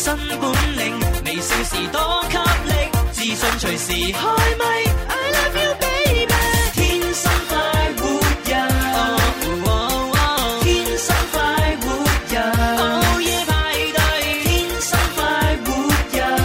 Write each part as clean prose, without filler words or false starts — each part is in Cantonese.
新本領，微笑時多給力，自信隨時開咪。I love you baby， 天生快活人，天生快活人，午夜派對，天生快活人，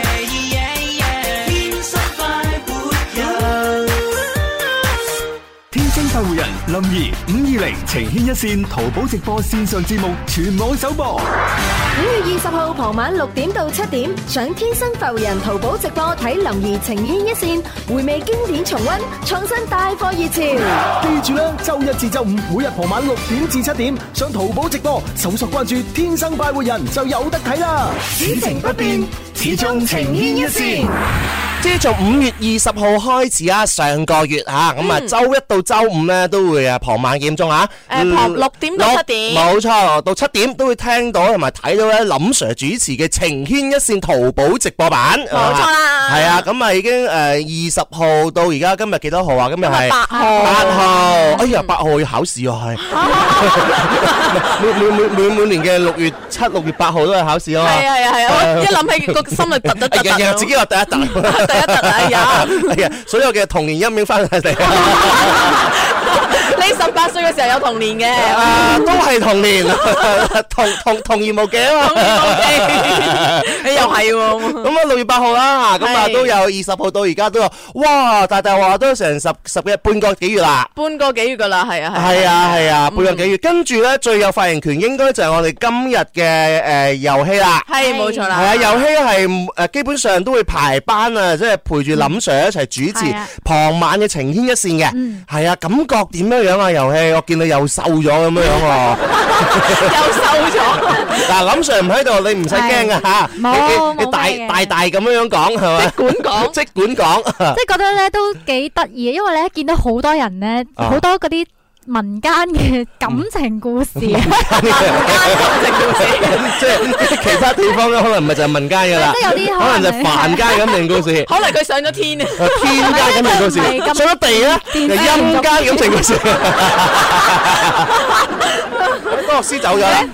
天生快活人， 天生快活人林怡520情牽一線淘寶直播線上節目全網首播。 5月20號傍晚6點到7點，上天生快活人淘寶直播睇林兒情牽一線，回味經典重溫，創新帶貨熱潮。 記住啦，周一至周五每日傍晚6點至7點，上淘寶直播搜索關注天生快活人就有得睇啦。 此情不變，始終情牽一線。 即係從5月20號開始啊，上個月嚇咁啊，周一到周五咧都會啊傍晚幾點鐘啊？ 傍6點到7點， 冇錯，到7點都會聽到同埋睇到咧林 Sir 主持嘅情牽一線淘寶直播版。 冇錯啦， 係啊，咁啊已經20號到而家今日幾多號啊？今日係 8號。 8號，哎呀8號要考試啊，係每年嘅6月7、6月8號都係考試啊嘛。 係啊，一諗起個心就突突突。 自己話第一突。 第一突哎呀！ 所有嘅童年陰影翻嚟。 你18歲嘅時候有童年嘅， 都係童年，童言無忌啊嘛。 你又係喎。 咁啊6月8號啦，咁啊都有20號到而家都有，哇！大話都成十幾半個幾月啦。 半個幾月噶啦，係啊。 係啊，半個幾月。跟住咧最有發言權應該就係我哋今日嘅遊戲啦。係冇錯啦。係啊，遊戲係基本上都會排班啊，即係陪住林 Sir 一齊主持傍晚嘅情牽一線嘅。係啊，感覺點樣啊？遊戲我見你又瘦咗咁樣喎。 又瘦咗。 嗱，林 Sir 唔喺度，你唔使驚啊嚇。你大咁樣講係咪？即管講。 即係覺得咧都幾得意，因為咧見到好多人咧，好多嗰啲民間嘅感情故事，民間感情故事， 即係其他地方咧，可能唔係就係民間㗎啦， 即係有啲可能就係凡間感情故事， 可能佢上咗天啊， 天間感情故事，上咗地咧，就陰間感情故事。多樂師走咗啦，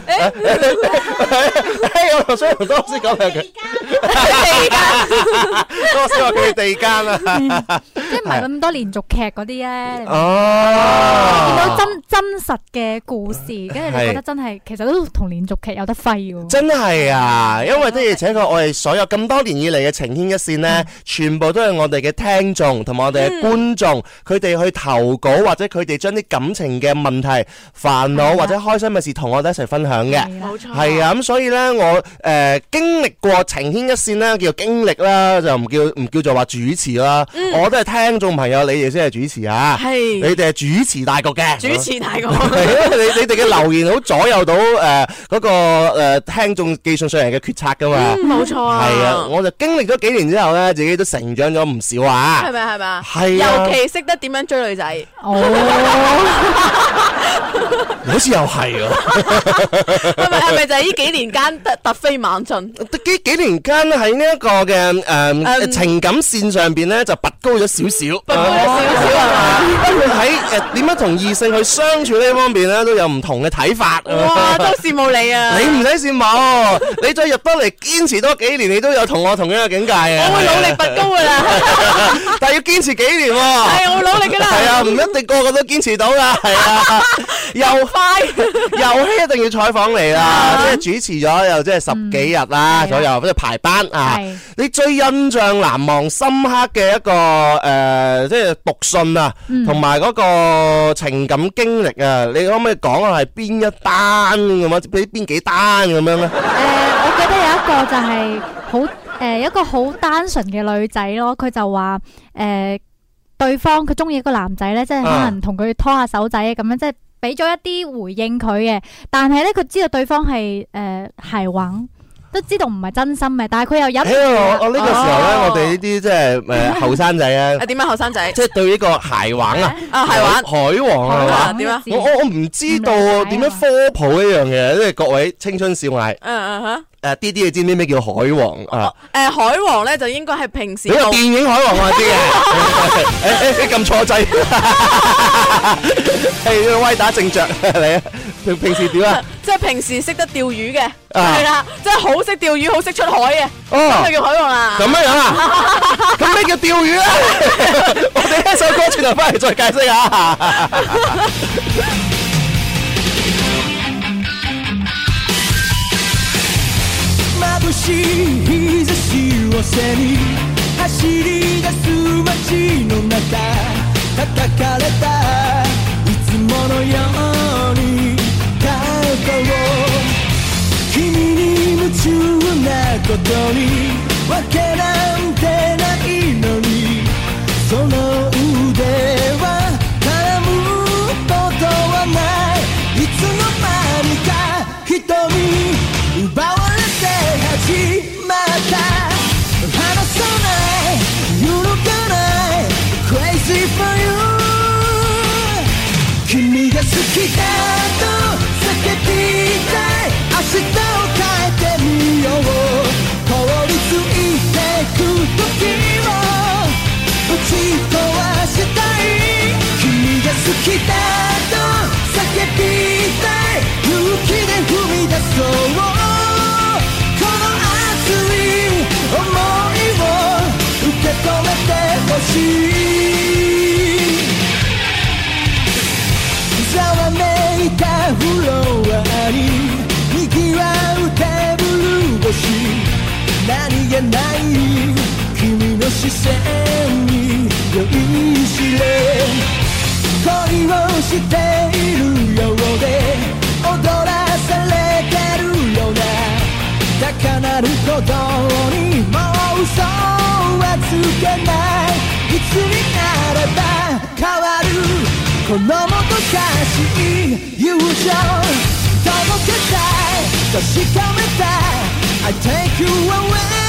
我想同多樂師講兩句。地間，多樂師話佢係地間啊， 即係唔係咁多連續劇嗰啲咧。 哦， 見到真實嘅故事，跟住你覺得真係其實都同連續劇有得揮喎。 真係啊，因為的而且確我哋所有咁多年以嚟嘅情牽一線呢，全部都係我哋嘅聽眾同埋我哋嘅觀眾，佢哋去投稿或者佢哋將啲感情嘅問題、煩惱或者開心嘅事同我哋一齊分享嘅。 冇錯。 係啊，咁所以呢，我經歷過情牽一線呢，叫做經歷啦，就唔叫做話主持啦。我都係聽眾朋友，你哋先係主持啊。係。你哋係主持大局嘅。主持大局。係因為你哋嘅留言好左右到嗰個聽眾寄信上嚟嘅決策噶嘛。 冇錯啊。係啊， 我就經歷咗幾年之後咧，自己都成長咗唔少啊。係咪？係啊。 尤其識得點樣追女仔。哦。 好似又係喎。 係咪就係呢幾年間突飛猛進？ 幾年間喺呢一個嘅情感線上邊咧，就拔高咗少少。拔高咗少少係嘛？因為喺點樣同異性去相處呢方面咧，都有唔同嘅睇法。 哇！都羨慕你啊！ 你唔使羨慕，你再入得嚟堅持多幾年，你都有同我同樣嘅境界啊！ 我會努力拔高噶啦， 但係要堅持幾年喎。 係，我會努力噶啦。係啊，唔一定個個都堅持到噶。係啊，又快遊戲一定要採訪你啦，即係主持咗又即係10幾日啦左右，即係排班啊。你最印象難忘深刻嘅一個即係讀信啊，同埋嗰個情感經歷啊，你可唔可以講下係邊一單咁啊？俾邊幾單咁樣咧？ 我記得有一個就係好一個好單純嘅女仔咯，佢就話對方佢中意一個男仔咧，即係可能同佢拖下手仔咁樣，即係俾咗一啲回應佢嘅，但係咧佢知道對方係海王。都知道唔係真心嘅，但係佢又忍唔住。 我呢個時候咧，我哋呢啲即係後生仔啊。 點樣後生仔？ 即係對呢個鞋王啊， 鞋王、 海王係嘛？點啊？我唔知道點樣科普呢樣嘢，即係各位青春少艾。啲你知唔知咩叫海王啊？ 海王咧就應該係平時。 你個電影海王我知嘅。你撳錯掣。係威打正着嚟啊！平時點啊？ 即係平時識得釣魚嘅，係啦，即係好識釣魚，好識出海嘅，咁就叫海王啦。 咁樣啊？咁咩叫釣魚咧？我哋呢首歌轉頭翻嚟再解釋下。 眩しい日差しを背に走り出す街の中叩かれたいつものように過去を君に夢中なことにわけなんてないのにその腕は絡むことはないいつの間にか瞳奪われて始まった離さない揺るがない Crazy for you 君が好きだと叫びたい明日を変えてみよう凍りついてく時を打ち壊したい君が好きだと叫びたい勇気で踏み出そうこの熱い想いを受け止めてほしいざわめいたフロアに賑わうテーブル越し何気ない君の視線に酔いしれ恋をしているようで踊らされてるような高鳴る鼓動にもう嘘はつけないいつになれば変わるこのもどかしい友情届けたい確かめたい I take you away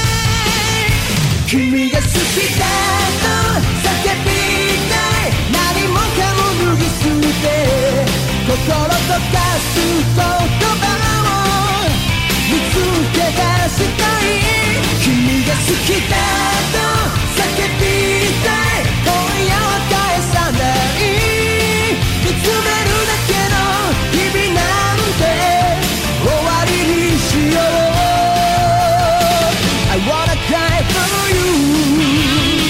君が好きだと叫びたい何もかも脱ぎ捨て心溶かす言葉を見つけ出したい君が好きだと叫びたい今夜は返さない見つめるだけの日々なんて終わりにしよう I wanna cry for you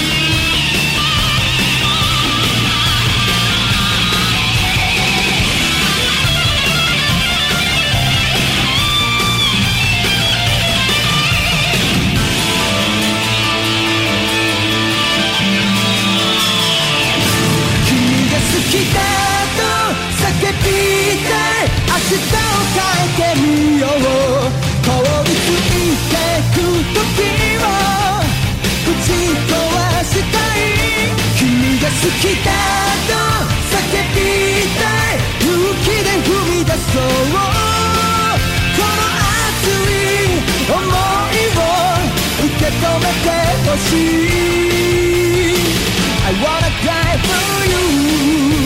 好きだと叫びたい明日を変えてみよう凍りついてく時を打ち壊したい君が好きだと叫びたい勇気で踏み出そうこの熱い想いを受け止めてほしい I wanna cry for you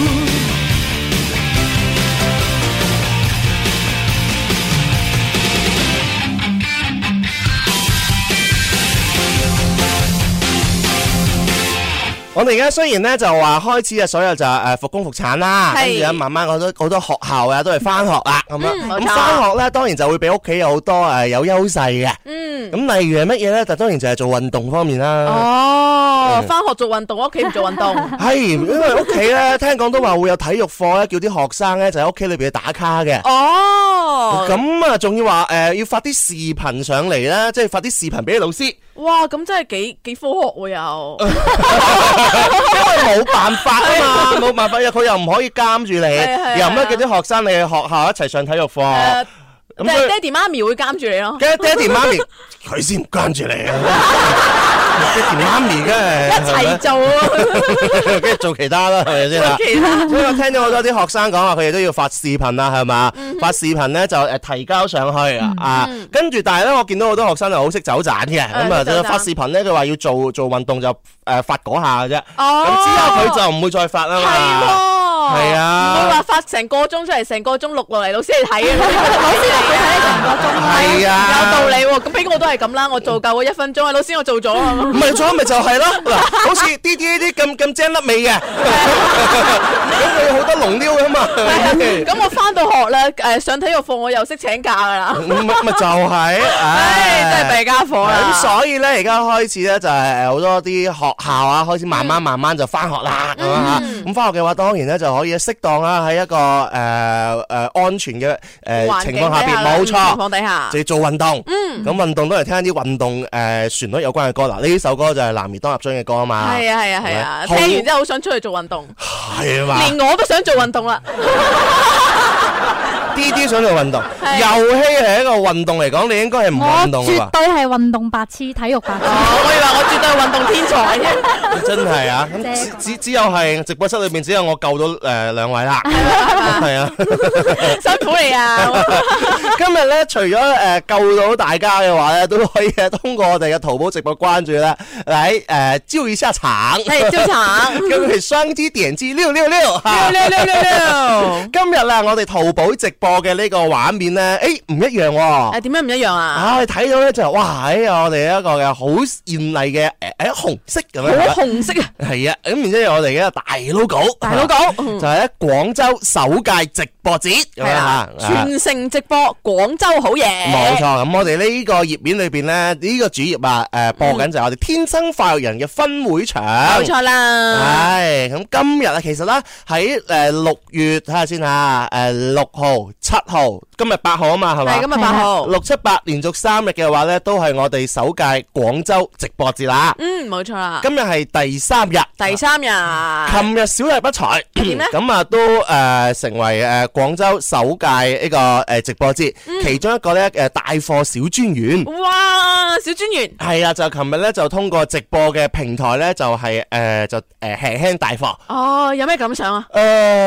我哋而家雖然咧就話開始啊，所有就復工復產啦，跟住咧慢慢好多學校啊都係翻學啦咁樣。咁翻學咧當然就會比屋企有好多有優勢嘅。咁例如係乜嘢咧？就當然就係做運動方面啦。 哦，翻學做運動，屋企唔做運動。 係，因為屋企咧聽講都話會有體育課咧，叫啲學生咧就喺屋企裏邊去打卡嘅。 哦。咁啊，仲要話要發啲視頻上嚟啦，即係發啲視頻俾啲老師。 哇，咁真係幾科學喎又。 因為冇辦法啊嘛，冇辦法，佢又唔可以監住你，又唔可以叫啲學生你去學校一齊上體育課。 咁爹哋媽咪會監住你咯。 爹哋媽咪佢先唔監住你啊！爹哋媽咪梗係一齊做啊， 跟住做其他啦，係咪先啦？ 其他。 所以我聽咗好多啲學生講話，佢哋都要發視頻啦，係嘛？發視頻咧就提交上去啊，跟住但係咧，我見到好多學生係好識走盞嘅，咁啊就發視頻咧，佢話要做運動就發嗰下嘅啫，咁之後佢就唔會再發啦嘛。 係啊， 唔會話發成個鐘出嚟，成個鐘錄落嚟，老師你睇嘅，老師你睇成個鐘， 係啊， 有道理喎。咁俾我都係咁啦，我做夠嗰1分鐘，老師我做咗啊， 唔係做咪就係咯，嗱，好似啲呢啲咁精粒味嘅，咁佢好多龍溜噶嘛。 咁我翻到學咧，上體育課我又識請假噶啦， 咪就係， 真係弊家伙啦。 咁所以咧，而家開始咧就係好多啲學校啊，開始慢慢就翻學啦，咁啊，咁翻學嘅話，當然咧就可以適當啦，喺一個安全嘅情況下邊，冇錯，情況底下就要做運動。咁運動都係聽啲運動旋律有關嘅歌啦。呢首歌就係男兒當入樽嘅歌啊嘛。 係啊，聽完之後好想出去做運動。 係嘛？ 連我都想做運動啦。 啲想做運動，遊戲係一個運動嚟講，你應該係唔運動㗎。 絕對係運動白痴，體育白痴。 我以為我絕對係運動天才啫。 真係啊！咁只有係直播室裏邊只有我救到兩位啦。係啊， 辛苦你啊！ 今日咧，除咗救到大家嘅話咧，都可以通過我哋嘅淘寶直播關注咧，嚟招一下場。 係招場， 咁係雙擊點擊666。今日啦，我哋淘寶直播嘅呢個畫面咧，唔一樣喎。 點解唔一樣啊？ 你睇到咧就係哇，我哋一個嘅好豔麗嘅紅色咁樣。 好紅色啊！ 係啊，咁然之後我哋嘅大 logo，就係喺廣州首屆直播節，係啊， 全城直播廣州好嘢。 冇錯，咁我哋呢個頁面裏邊咧，呢個主頁啊，播緊就係我哋天生快活人嘅分會場。 冇錯啦。 係咁今日啊，其實咧喺6月睇下先吓，6號、7號，今日8號啊嘛，係嘛？ 係今日8號 ，6、7、8連續3日嘅話咧，都係我哋首屆廣州直播節啦。 冇錯啦。 今日係第3日。 第3日。 琴日小弟不才， 點咧？ 咁啊都成為廣州首屆呢個直播節其中一個咧帶貨小專員。 哇！小專員係啊，就琴日咧就通過直播嘅平台咧就係輕輕帶貨。 哦，有咩感想啊？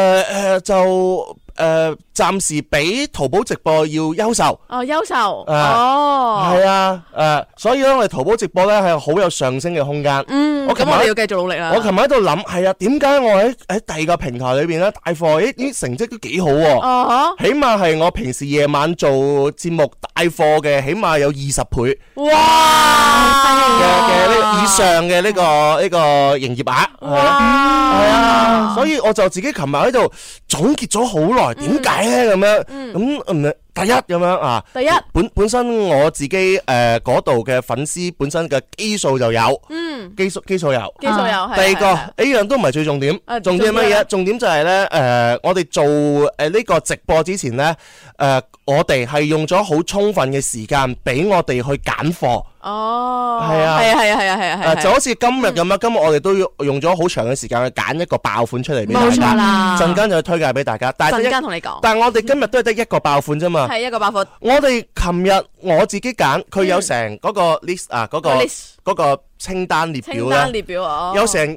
暫時比淘寶直播要優秀。 優秀。 係啊，所以咧我哋淘寶直播咧係好有上升嘅空間。 咁我哋要繼續努力啦。 我琴日喺度諗，係啊，點解我喺第二個平台裏邊咧帶貨，啲成績都幾好喎。起碼係我平時夜晚做節目帶貨嘅，起碼有20倍。 哇！ 嘅以上嘅呢個營業額。係啊，所以我就自己琴日喺度總結咗好耐，點解咧咁樣？咁第一咁樣啊，本身我自己嗰度嘅粉絲本身嘅基數就有，基數有。第二個呢樣都唔係最重點，重點係乜嘢？重點就係咧我哋做呢個直播之前咧，我哋係用咗好充分嘅時間俾我哋去揀貨。係啊，就好似今日咁樣，今日我哋都要用咗好長嘅時間去揀一個爆款出嚟俾大家。冇錯啦，陣間就去推介俾大家。 陣間同你講。 但係我哋今日都係得一個爆款啫嘛。 係一個爆款。 我哋琴日我自己揀，佢有成嗰個 list 啊，嗰個清單列表咧。清單列表有成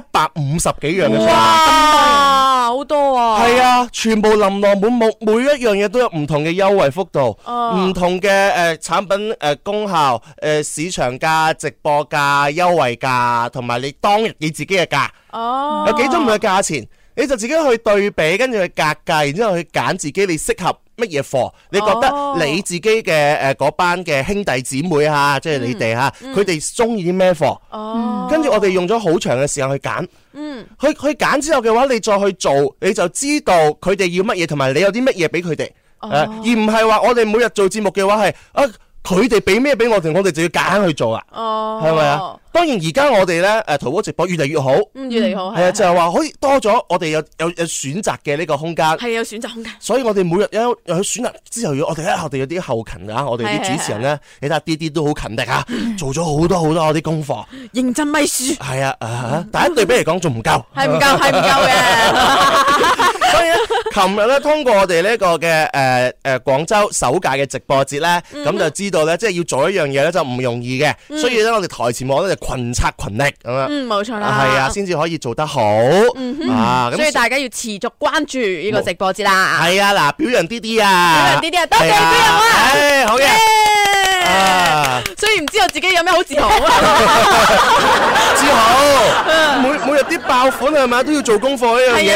150幾樣嘅嘢。 哇，好多啊！ 係啊，全部琳琅滿目，每一樣嘢都有唔同嘅優惠幅度，唔同嘅產品功效，市場價、直播價、優惠價，同埋你當日你自己嘅價。有幾種唔同嘅價錢，你就自己去對比，跟住去格價，然之後去揀自己你適合乜嘢貨？你覺得你自己嘅嗰班嘅兄弟姊妹啊，即係你哋嚇，佢哋中意啲咩貨？跟住我哋用咗好長嘅時間去揀。去揀之後嘅話，你再去做，你就知道佢哋要乜嘢，同埋你有啲乜嘢俾佢哋。而唔係話我哋每日做節目嘅話係佢哋俾咩俾我哋就要夾硬去做啊。係咪啊？當然而家我哋咧淘寶直播越嚟越好， 越嚟越好。 係啊，就係話可以多咗我哋有選擇嘅呢個空間。 係有選擇空間。所以我哋每日有選擇之後，我哋有啲後勤啊，我哋啲主持人咧，你睇下啲都好勤力啊，做咗好多嗰啲功課， 認真咪書。 係啊，但係對比嚟講仲唔夠， 係唔夠嘅。 所以咧，琴日咧通過我哋呢個嘅廣州首屆嘅直播節咧，咁就知道咧，即係要做一樣嘢咧就唔容易嘅，所以咧我哋台前幕咧就群策群力咁樣。 冇錯啦。 係啊，先至可以做得好。 所以大家要持續關注呢個直播節啦。 係啊，嗱，表揚啲啊， 多謝表揚啊！ 好嘅。 雖然唔知道自己有咩好自豪啊， 自豪。每日啲爆款係咪都要做功課呢樣嘢？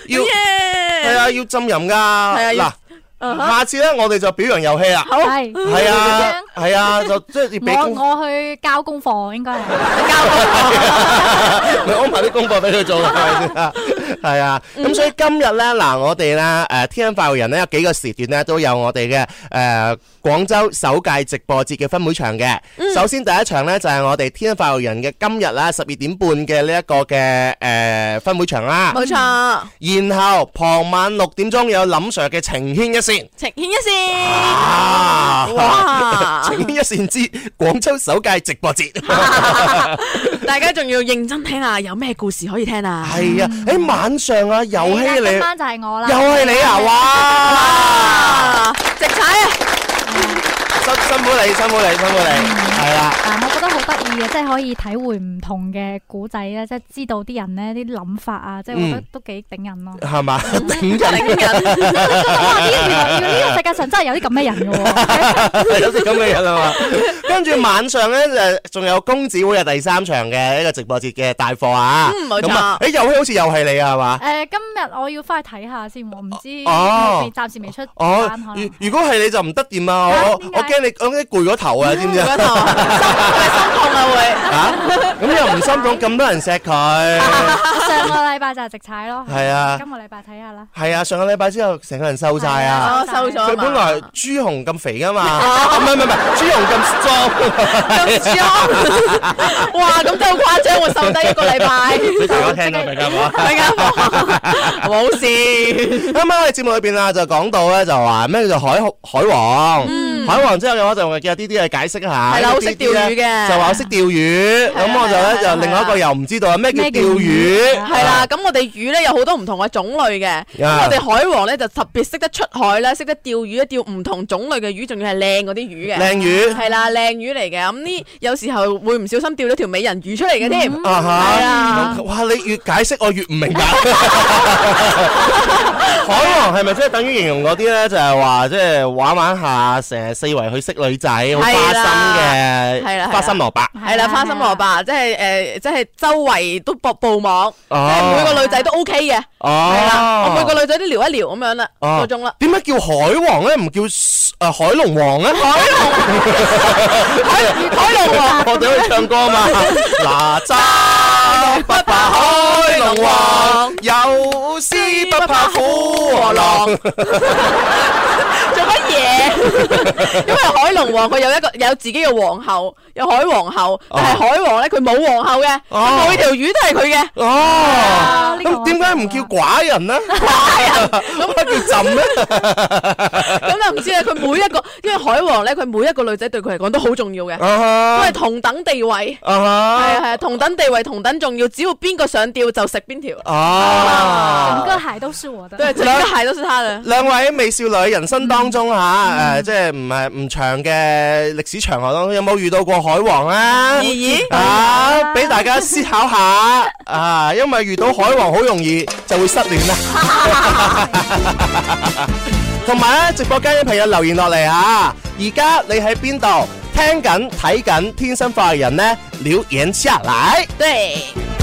係啊，要浸淫噶。嗱。下次咧，我哋就表揚遊戲啦。 好， 係啊，就即係俾我去交功課，應該係交功課，咪安排啲功課俾佢做，係咪先？係啊，咁所以今日咧，嗱，我哋咧，天生快活人咧有幾個時段咧都有我哋嘅廣州首屆直播節嘅分會場嘅。首先第一場咧就係我哋天生快活人嘅今日啦12點半嘅呢一個嘅分會場啦。 冇錯。 然後傍晚6點鐘有林 Sir 嘅情牽一線。 情牽一線， 哇！情牽一線之廣州首屆直播節， 大家仲要認真聽下，有咩故事可以聽啊？ 係啊，喺晚上啊，遊戲你今晚就係我啦， 又係你啊！哇！ 直踩啊！ 辛苦你，係啦。 我覺得好得意嘅，即係可以體會唔同嘅古仔咧，即係知道啲人咧啲諗法啊，即係我覺得都幾頂人咯。 係嘛？頂人。 哇！呢個世界上真係有啲咁嘅人嘅喎， 有啲咁嘅人啊嘛。跟住晚上咧仲有公子會第3場嘅一個直播節嘅帶貨啊。 冇錯。 遊戲好似又係你啊，係嘛？ 今日我要翻去睇下先，我唔知暫時未出單。 如果係你就唔得掂啊！我驚你攰咗頭啊，知唔知啊？ 心痛啊會咁又唔心痛，咁多人錫佢。 上個禮拜就係直踩咯。 係啊， 今個禮拜睇下啦。 係啊，上個禮拜之後成個人瘦晒啊， 瘦咗。 佢本來朱紅咁肥噶嘛，唔係朱紅咁壯。 哇，咁真係好誇張，我瘦低1個禮拜。 俾大家聽啦，大家冇事。 啱啱我哋節目裏邊啊，就講到咧，就話咩叫做海王。海王之後嘅話就叫啲去解釋一下。 係啦，好識釣魚嘅。 就話我識釣魚，咁我就咧就另外一個又唔知道咩叫釣魚。 係啦，咁我哋魚咧有好多唔同嘅種類嘅。我哋海王咧就特別識得出海咧，識得釣魚，釣唔同種類嘅魚，仲要係靚嗰啲魚嘅。 靚魚。係啦，靚魚嚟嘅。咁呢有時候會唔小心釣咗條美人魚出嚟嘅添。係啊。 哇！你越解釋我越唔明白。海王係咪即係等於形容嗰啲咧？就係話即係玩下成日四圍去識女仔，好花心嘅，花心蘿蔔。係啦，花心蘿蔔，即係周圍都布網，即係每個女仔都 OK 嘅。係啦，我每個女仔都撩一撩咁樣啦，嗰種啦。點解叫海王咧？唔叫海龍王咧？海龍王，我哋可以唱歌嘛？哪吒不怕海龍王，有詩不怕虎和狼。 做乜嘢？因為海龍王佢有自己嘅皇后，有海皇后，但係海王咧佢冇皇后嘅，每條魚都係佢嘅。哦， 咁點解唔叫寡人呢？ 寡人咁叫朕咧？ 咁就唔知啦。佢每一個，因為海王咧，佢每一個女仔對佢嚟講都好重要嘅，都係同等地位。係同等地位，同等重要。只要邊個上吊就食邊條。 整個海都是我的。 對，整個海都是他的。 兩位美少女人生當中即係唔長嘅歷史長河當中，有冇遇到過海王啊？俾大家思考下啊，因為遇到海王好容易就會失戀啦。同埋咧，直播間嘅朋友留言落嚟啊！而家你喺邊度聽緊睇緊天生快活人呢？留言下來。 對。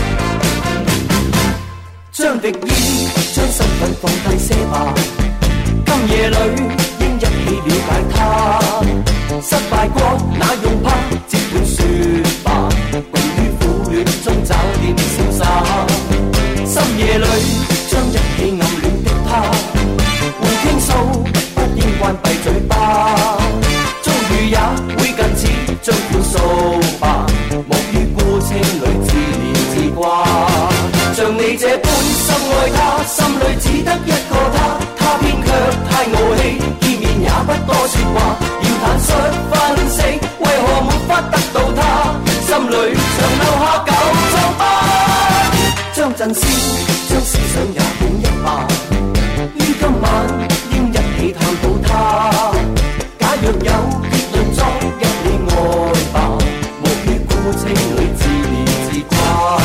將敵意，將身份放低些吧。今夜裏應一起了解他。失敗過那用怕，即管說吧。共於苦戀中找點瀟灑。深夜裏將一起暗戀的他，互傾訴，不應關閉嘴巴。遭遇也會近似，將款數吧。莫於孤清裏自憐自掛。像你這般深愛他，心裏只得一個他，他偏卻太傲氣，見面也不多說話，要坦率分析，為何沒法得到他，心裏常留下舊瘡疤，將陣先，將思想也變一吧，於今晚應一起探討他，假若有結論裝一起愛吧，莫於孤清裏自憐自掛。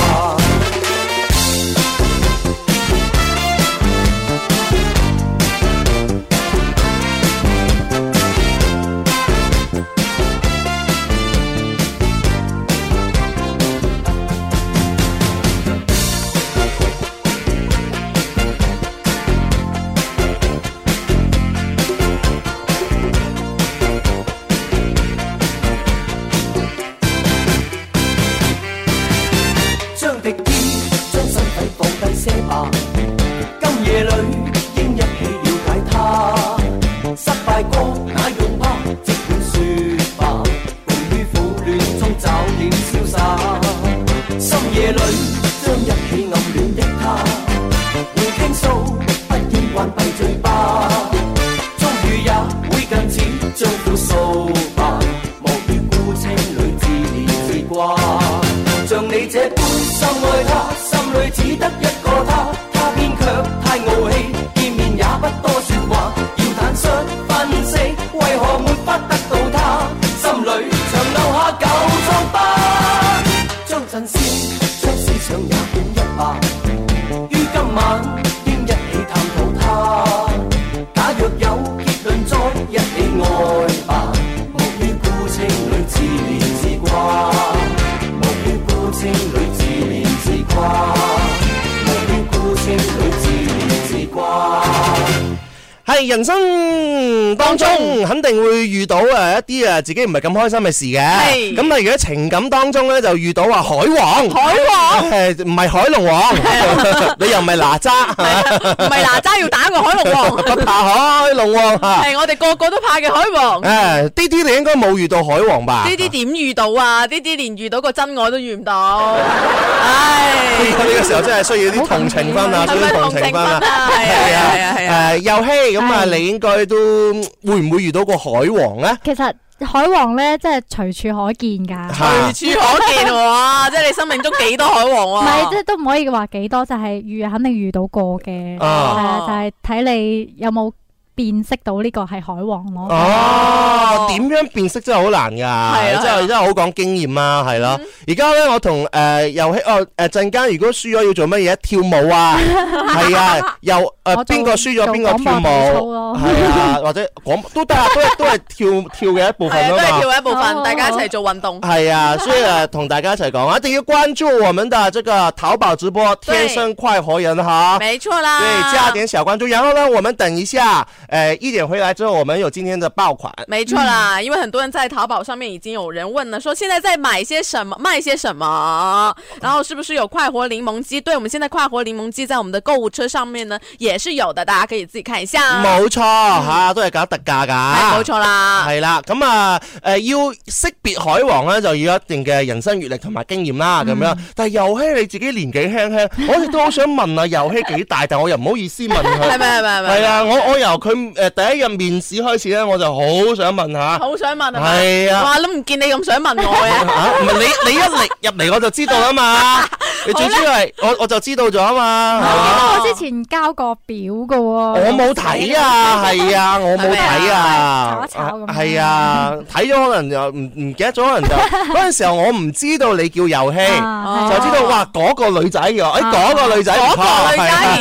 吧。今夜裏應一起了解他，失敗過那用怕，即管說吧，共於苦戀中找點瀟灑。深夜裏將一起暗戀的他，會傾訴，不應關閉嘴巴。終於也會近似將苦訴吧，莫於孤清裏自憐自掛。像你這般深愛他，心裏只得一個他，他偏卻太傲氣，見面也不多說話，要坦率分析，為何沒法得到他，心裏長留下舊瘡疤。將陣先，將思想也管一把，於今晚應一起探討他。假若有結論，再一起愛吧，莫於孤清裏自憐自掛。情侶自憐自掛，莫於孤清裏自憐自掛。 係人生當中肯定會遇到一啲自己唔係咁開心嘅事嘅。咁例如喺情感當中咧，就遇到話海王，唔係海龍王，你又唔係哪吒， 唔係哪吒要打個海龍王， 不怕海龍王係我哋個個都怕嘅海王。 啲你應該冇遇到海王吧？ 啲點遇到啊？啲連遇到個真愛都遇唔到。唉， 呢個時候真係需要啲同情分啊，需要同情分啊。係啊，遊戲。咁啊，你應該都會唔會遇到過海王咧？ 其實海王咧，即係隨處可見㗎。 隨處可見喎，即係你生命中幾多海王喎？ 唔係，即係都唔可以話幾多，就係肯定遇到過嘅。係啊，就係睇你有冇辨識到呢個係海王咯。 哦，點樣辨識真係好難㗎，真係好講經驗啦，係咯。而家咧，我同遊戲陣間如果輸咗要做乜嘢？跳舞啊，係啊，又邊個輸咗邊個跳舞，係啊，或者都得啊，都係跳嘅一部分啊嘛， 都係跳嘅一部分，大家一齊做運動。 係啊，所以同大家一齊講，一定要關注我們的這個淘寶直播天生快活人哈， 沒錯啦， 對，加點小關注。然後呢，我們等一下，1點回來之後，我們有今天的爆款。 沒錯啦，因為很多人在淘寶上面已經有人問了，說現在在買些什麼，賣些什麼，然後是不是有快活檸檬雞？對，我們現在快活檸檬雞在我們的購物車上面呢，也是有的，大家可以自己看一下。 冇錯吓，都係搞特價噶。 冇錯啦， 係啦，咁啊，要識別海王咧，就要一定嘅人生閱歷同埋經驗啦，咁樣。但係遊戲你自己年紀輕輕，我亦都好想問啊，遊戲幾大？但我又唔好意思問佢。係咪？係啊，我由佢第一日面試開始咧，我就好想問下。好想問係啊！ 哇，都唔見你咁想問我嘅。 唔係你一嚟入嚟我就知道啦嘛。你最主要係我就知道咗啊嘛。 我之前交過表噶喎。 我冇睇啊，係啊，我冇睇啊。 炒一炒咁。 係啊，睇咗可能就唔記得咗，可能就嗰陣時候我唔知道你叫遊戲，就知道哇嗰個女仔嘅，嗰個女仔唔錯，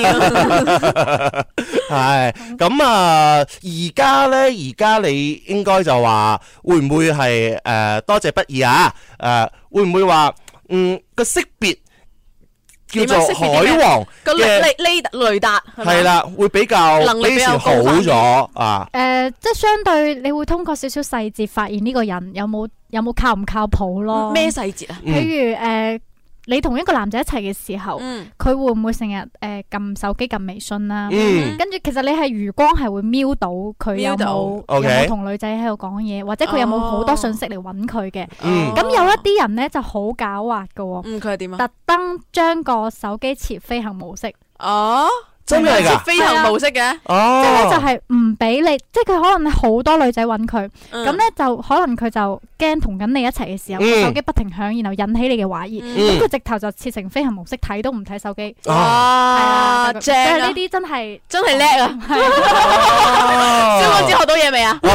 係咁啊！而家你應該就話會唔會係多謝不易啊？會唔會話個識別叫做海王嘅雷達係啦，會比較比以前好咗啊？ 即係相對你會通過少少細節發現呢個人有冇靠唔靠譜咯？ 咩細節啊？ 譬如你同一個男仔一齊嘅時候，佢會唔會成日撳手機撳微信啦？跟住其實你係餘光係會瞄到佢有冇同女仔喺度講嘢，或者佢有冇好多信息嚟揾佢嘅。咁有一啲人咧就好狡猾噶， 佢係點啊？ 特登將個手機設飛行模式。 真係噶飛行模式嘅， 即係咧就係唔俾你，即係佢可能好多女仔揾佢，咁咧就可能佢就驚同緊你一齊嘅時候，手機不停響，然後引起你嘅懷疑，咁佢直頭就設成飛行模式，睇都唔睇手機。 哇，正啊！ 呢啲真係叻啊！蕭公子學到嘢未啊？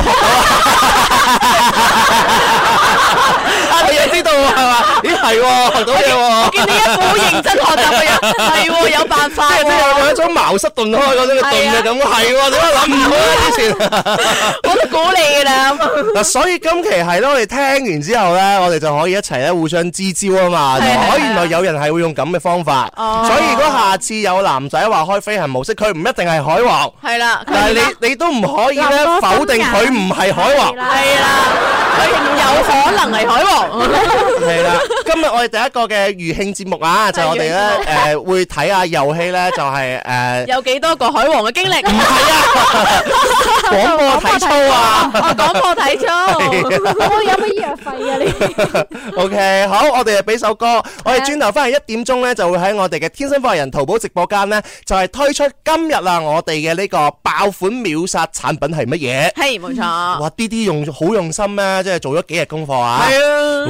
你又知道係嘛？咦係學到嘢喎！ 我見你一副好認真學習嘅樣，係有辦法。 即係有一種茅塞頓開嗰種嘅頓嘅感覺，係點解諗唔到啊？之前我都估你㗎啦。 嗱，所以今期係咯，我哋聽完之後咧，我哋就可以一齊咧互相支招啊嘛。可以原來有人係會用咁嘅方法，所以如果下次有男仔話開飛行模式，佢唔一定係海王。係啦，但係你都唔可以咧否定佢唔係海王。 係啦，佢有可能係海王。 係啦， 今日我哋第一個嘅餘興節目啊，就我哋咧會睇下遊戲咧，就係有幾多個海王嘅經歷？ 唔係啊，廣播體操啊， 廣播體操， 我有乜醫藥費啊你 ？OK， 好，我哋就俾首歌，我哋轉頭翻嚟1點鐘咧，就會喺我哋嘅天生快活人淘寶直播間咧，就係推出今日啊，我哋嘅呢個爆款秒殺產品係乜嘢？ 係冇錯。 哇！啲好用心咧，即係做咗幾日功課啊！ 係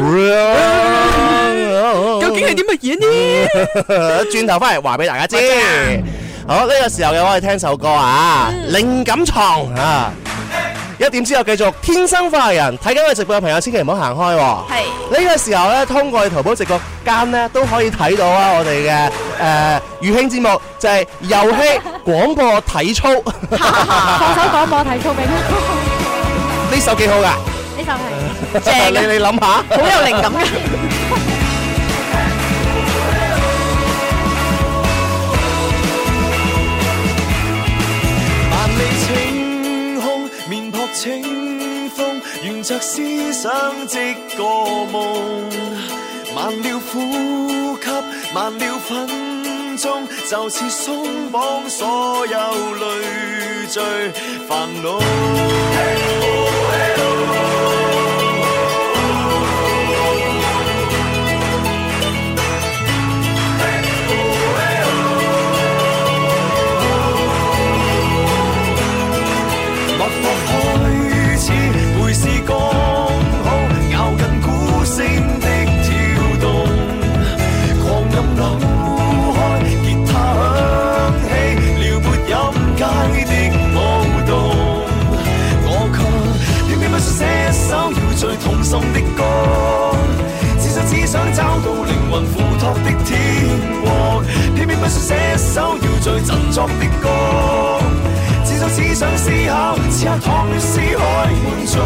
啊，究竟係啲乜嘢呢？ 轉頭翻嚟話俾大家知。好，呢個時候嘅我哋聽首歌啊，靈感床啊！1點之後繼續天生快活人，睇緊我哋直播嘅朋友千祈唔好行開。係呢個時候咧，通過淘寶直播間咧都可以睇到啊，我哋嘅餘興節目就係遊戲廣播體操， 放首廣播體操俾佢。 呢首幾好噶， 呢首係正嘅， 你諗下， 好有靈感嘅。 萬里晴空，面撲清風，沿着思想即個夢。慢了呼吸，慢了分鐘，就似鬆綁所有累贅煩惱。會是剛好咬緊鼓聲的跳動，狂飲扭開吉他響起，撩撥音階的舞動。我卻偏偏不想寫首搖醉痛心的歌，只想找到靈魂付託的天國，偏偏不想寫首搖醉振作的歌。只想思考，此刻淌於思海滿足。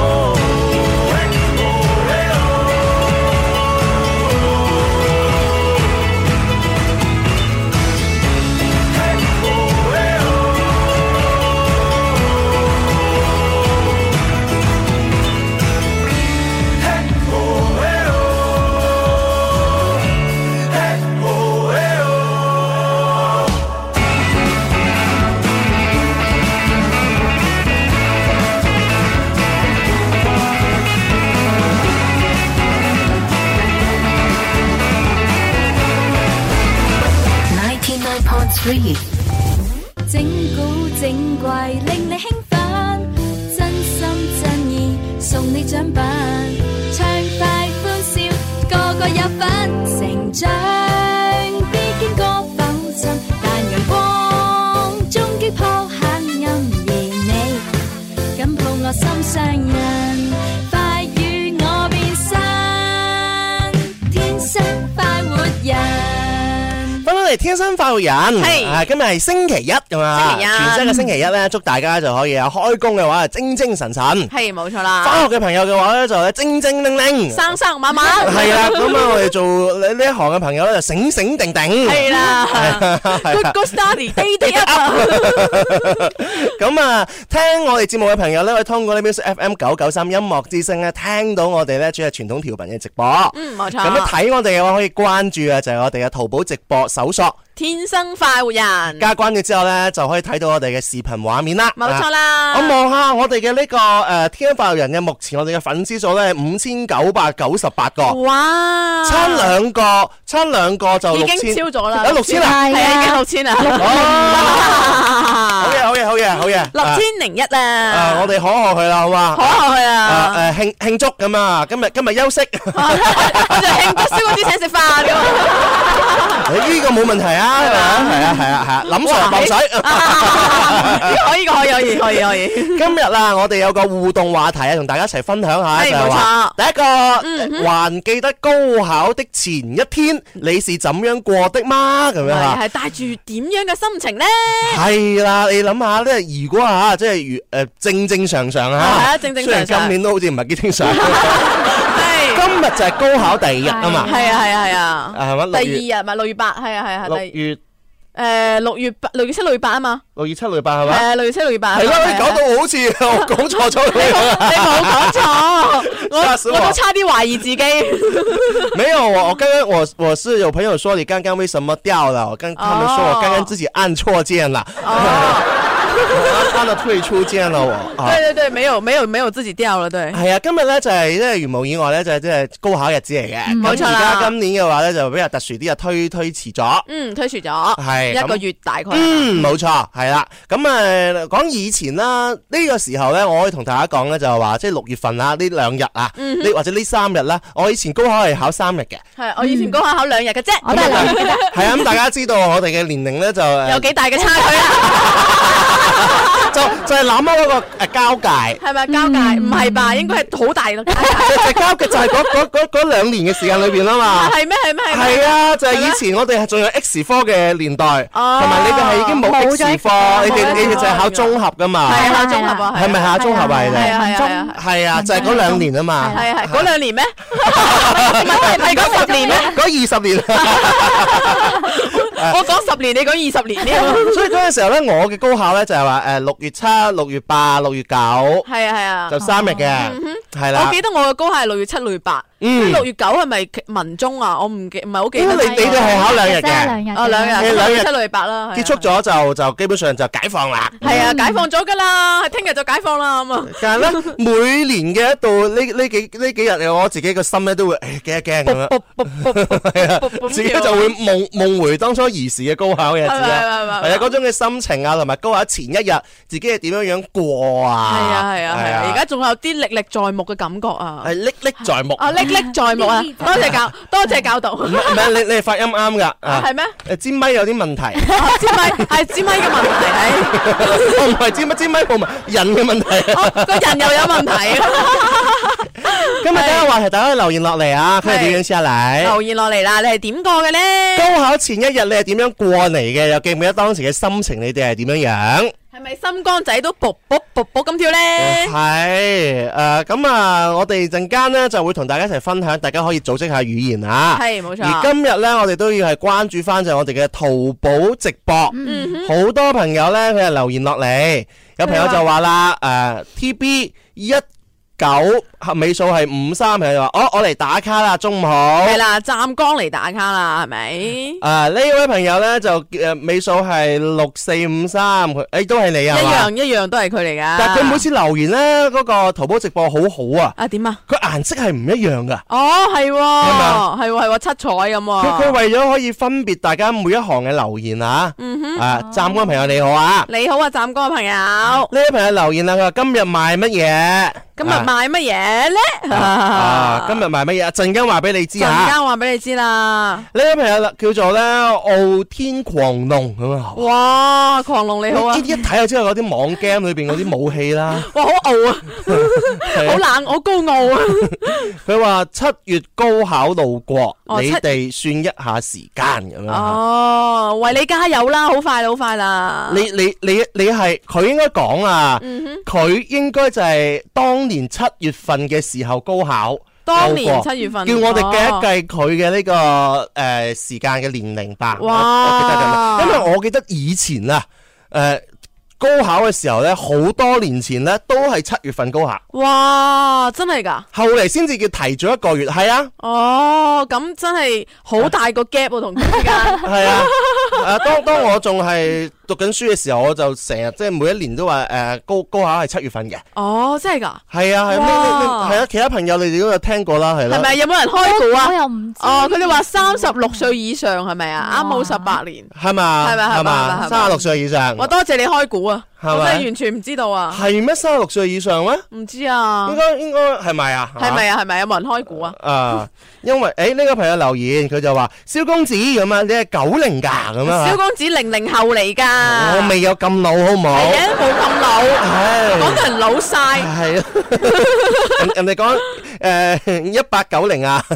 整蠱整怪令你興奮，真心真意送你獎品，暢快歡笑個個有份，成長必經過浮沉，但陽光終擊破黑暗，而你緊抱我心上人，快與我變身，天生快活人。 天生快活人，係今日係星期一咁啊！全新嘅星期一咧，祝大家就可以啊開工嘅話精精神神， 係冇錯啦。 返學嘅朋友嘅話咧就精精靈靈， 生生猛猛， 係啦。咁啊，我哋做呢一行嘅朋友咧就醒醒定定， 係啦。Good study, day up。 咁啊，聽我哋節目嘅朋友咧，可以通過呢邊 FM 993音樂之聲咧，聽到我哋咧主要係傳統調頻嘅直播。 冇錯。 咁樣睇我哋嘅話，可以關注啊，就係我哋嘅淘寶直播搜索天生快活人， 加關注之後咧，就可以睇到我哋嘅視頻畫面啦。 冇錯啦。 我望下我哋嘅呢個天生快活人嘅目前我哋嘅粉絲數咧5998個。 哇！ 差兩個就6000， 已經超咗啦。 有6000啦， 係啊，已經6000啦。 好嘢 ，6001啦。 我哋可賀佢啦，好嘛？ 可賀佢啊！ 慶祝咁啊！今日休息， 我就慶祝燒嗰啲請食飯咁。 呢個冇問題啊，係啊，林 Sir 流水，可以。今日啦，我哋有個互動話題啊，同大家一齊分享下，就係話第一個，還記得高考的前一天，你是怎樣過的嗎？咁樣嚇， 係帶住點樣嘅心情咧？ 係啦，你諗下咧，如果嚇即係正常嚇，係啊，正常。 今年都好似唔係幾正常。今日就係高考第二日啊嘛， 係啊， 係嘛？ 第二日咪6月8，係啊，6月 6月7、6月8啊嘛 ，6月7、6月8係嘛？ 係啊，6月7、6月8。 係咯，你講到好似我講錯咗咁樣。 你冇講錯，我都差啲懷疑自己。 沒有，我剛剛我是有朋友說你剛剛為什麼掉了？我跟他們說我剛剛自己按錯鍵了。按了退出鍵了我。 對對對，沒有自己掉了，對。 係啊，今日咧就係即係如無意外咧就係即係高考日子嚟嘅。 冇錯啦。 而家今年嘅話咧就比較特殊啲啊，推遲咗。推遲咗。係 1個月大概。 冇錯，係啦。咁講以前啦，呢個時候咧，我可以同大家講咧就係話，即係6月份啊，呢2日啊，或者呢3日啦，我以前高考係考3日嘅。 係，我以前高考2日嘅啫，我都係2日嘅啫。 係啊，咁大家知道我哋嘅年齡咧就有幾大嘅差距啊？ 就係諗開嗰個交界， 係咪交界？唔係吧？應該係好大咯。 就交界就係嗰2年嘅時間裏邊啊嘛。 係咩？ 係啊，就係以前我哋係仲有 X 科嘅年代，同埋你哋係已經冇 X 科，你哋就係考綜合噶嘛。 係考綜合啊。 係咪考綜合啊？你哋係啊，就係嗰2年啊嘛。 係嗰2年咩？係嗰10年咩？ 嗰20年。 我講10年，你講20年呢？ 所以嗰陣時候咧，我嘅高考咧就係話6月7、6月8、6月9， 係啊， 就3日嘅，係啦。 我記得我嘅高考係6月7、6月8， 6月9係咪文中啊？我唔係好記得。 你哋係考2日嘅， 2日，6月7、6月8啦。 結束咗就基本上就解放啦。 係啊，解放咗噶啦，聽日就解放啦咁啊。 但係咧，每年嘅一到呢幾日，我自己個心咧都會驚一驚咁樣，自己就會夢回當初兒時嘅高考嘅日子啦。係啊，嗰種嘅心情啊，同埋高考前一日自己係點樣過啊？係啊，而家仲有啲歷歷在目嘅感覺啊！ 係歷歷在目啊，歷歷在目啊！多謝教導。 唔係你係發音啱㗎。 係咩？ 支咪有啲問題。 支咪嘅問題係。 我唔係支咪冇問人嘅問題。 個人又有問題。 今日第一個話題，大家可以留言落嚟啊！佢係點樣先嚟？ 留言落嚟啦！你係點過嘅咧？ 高考前一日你係點樣過嚟嘅？又記唔記得當時嘅心情？你哋係點樣樣？ 係咪心肝仔都卜卜卜卜咁跳咧？ 係咁我哋陣間咧就會同大家一齊分享，大家可以組織下語言啊。 係冇錯。 而今日咧，我哋都要係關注翻就係我哋嘅淘寶直播。好多朋友咧，佢係留言落嚟，有朋友就話啦，TB19尾數係53，朋友話我嚟打卡啦，中午好。 係啦，湛江嚟打卡啦，係咪？ 呢位朋友咧就尾數係6453，佢都係你啊？ 一樣都係佢嚟噶。 但係佢每次留言咧，嗰個淘寶直播好好啊。 啊點啊？ 佢顏色係唔一樣噶。 哦，係喎，七彩咁啊。 佢為咗可以分別大家每一行嘅留言啊。湛江朋友你好啊。 你好啊，湛江嘅朋友。呢位朋友留言啦，佢話今日賣乜嘢？ 今日賣乜嘢咧？ 今日賣乜嘢？陣間話俾你知啊！ 陣間話俾你知啦。 呢位朋友叫做咧傲天狂龍咁啊！ 哇，狂龍你好啊！ 一睇就知道嗰啲網 game 裏邊嗰啲武器啦。 哇，好傲啊！好冷，好高傲啊！ 佢話7月高考路過，你哋算一下時間咁樣。 哦，為你加油啦！好快啦！ 你係佢應該講啊，佢應該就係當年7月份嘅時候高考， 當年7月份， 叫我哋計一計佢嘅呢個時間嘅年齡吧。 哇！ 我記得咁，因為我記得以前啊，高考嘅時候咧，好多年前咧都係7月份高考。 哇！真係噶？ 後嚟先至叫提早1個月，係啊。 哦，咁真係好大個 gap 喎，同佢之間。係啊，當我仲係讀緊書嘅時候，我就成日即係每一年都話高考係7月份嘅。 哦，真係噶？ 係啊，係啊，其他朋友你哋都有聽過啦，係啦。 係咪有冇人開估啊？ 我又唔知。 哦，佢哋話36歲以上係咪啊？啱好18年。 係嘛？係嘛？36歲以上。 我多謝你開估啊！ 係咪？ 我真係完全唔知道啊！ 係咩？36歲以上咩？ 唔知啊。 應該係咪啊？ 係咪啊？係咪有冇人開估啊？ 因為呢個朋友留言，佢就話蕭公子咁啊，你係90噶咁啊？ 蕭公子00後嚟噶。 我未有咁老，好唔好？ 係啊，冇咁老。講到人老晒。係啊。 人哋講1890啊。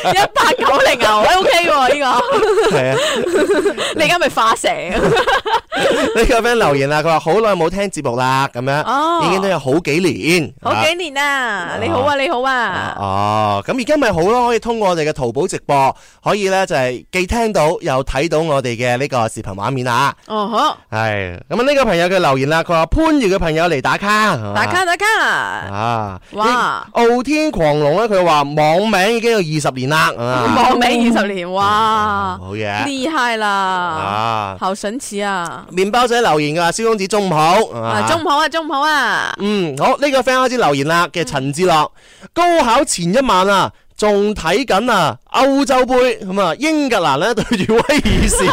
1890啊，我 OK 喎呢個。 係啊。 你而家咪化蛇？ 呢個 friend 留言啦，佢話好耐冇聽節目啦，咁樣，已經都有好幾年， 好幾年啦，你好啊，你好啊， 哦，咁而家咪好咯，可以通過我哋嘅淘寶直播，可以咧就係既聽到又睇到我哋嘅呢個視頻畫面啊， 哦好， 係，咁呢個朋友嘅留言啦，佢話番禺嘅朋友嚟打卡， 打卡，啊，哇， 傲天狂龍咧，佢話網名已經有20年啦， 網名20年，哇， 好嘢， 厲害啦，啊，好神奇啊！ 麵包仔留言㗎，蕭公子中午好， 中午好啊，中午好啊。 好，呢個 friend 開始留言啦嘅陳志樂，高考前一晚啊，仲睇緊啊歐洲杯咁啊，英格蘭咧對住威爾士。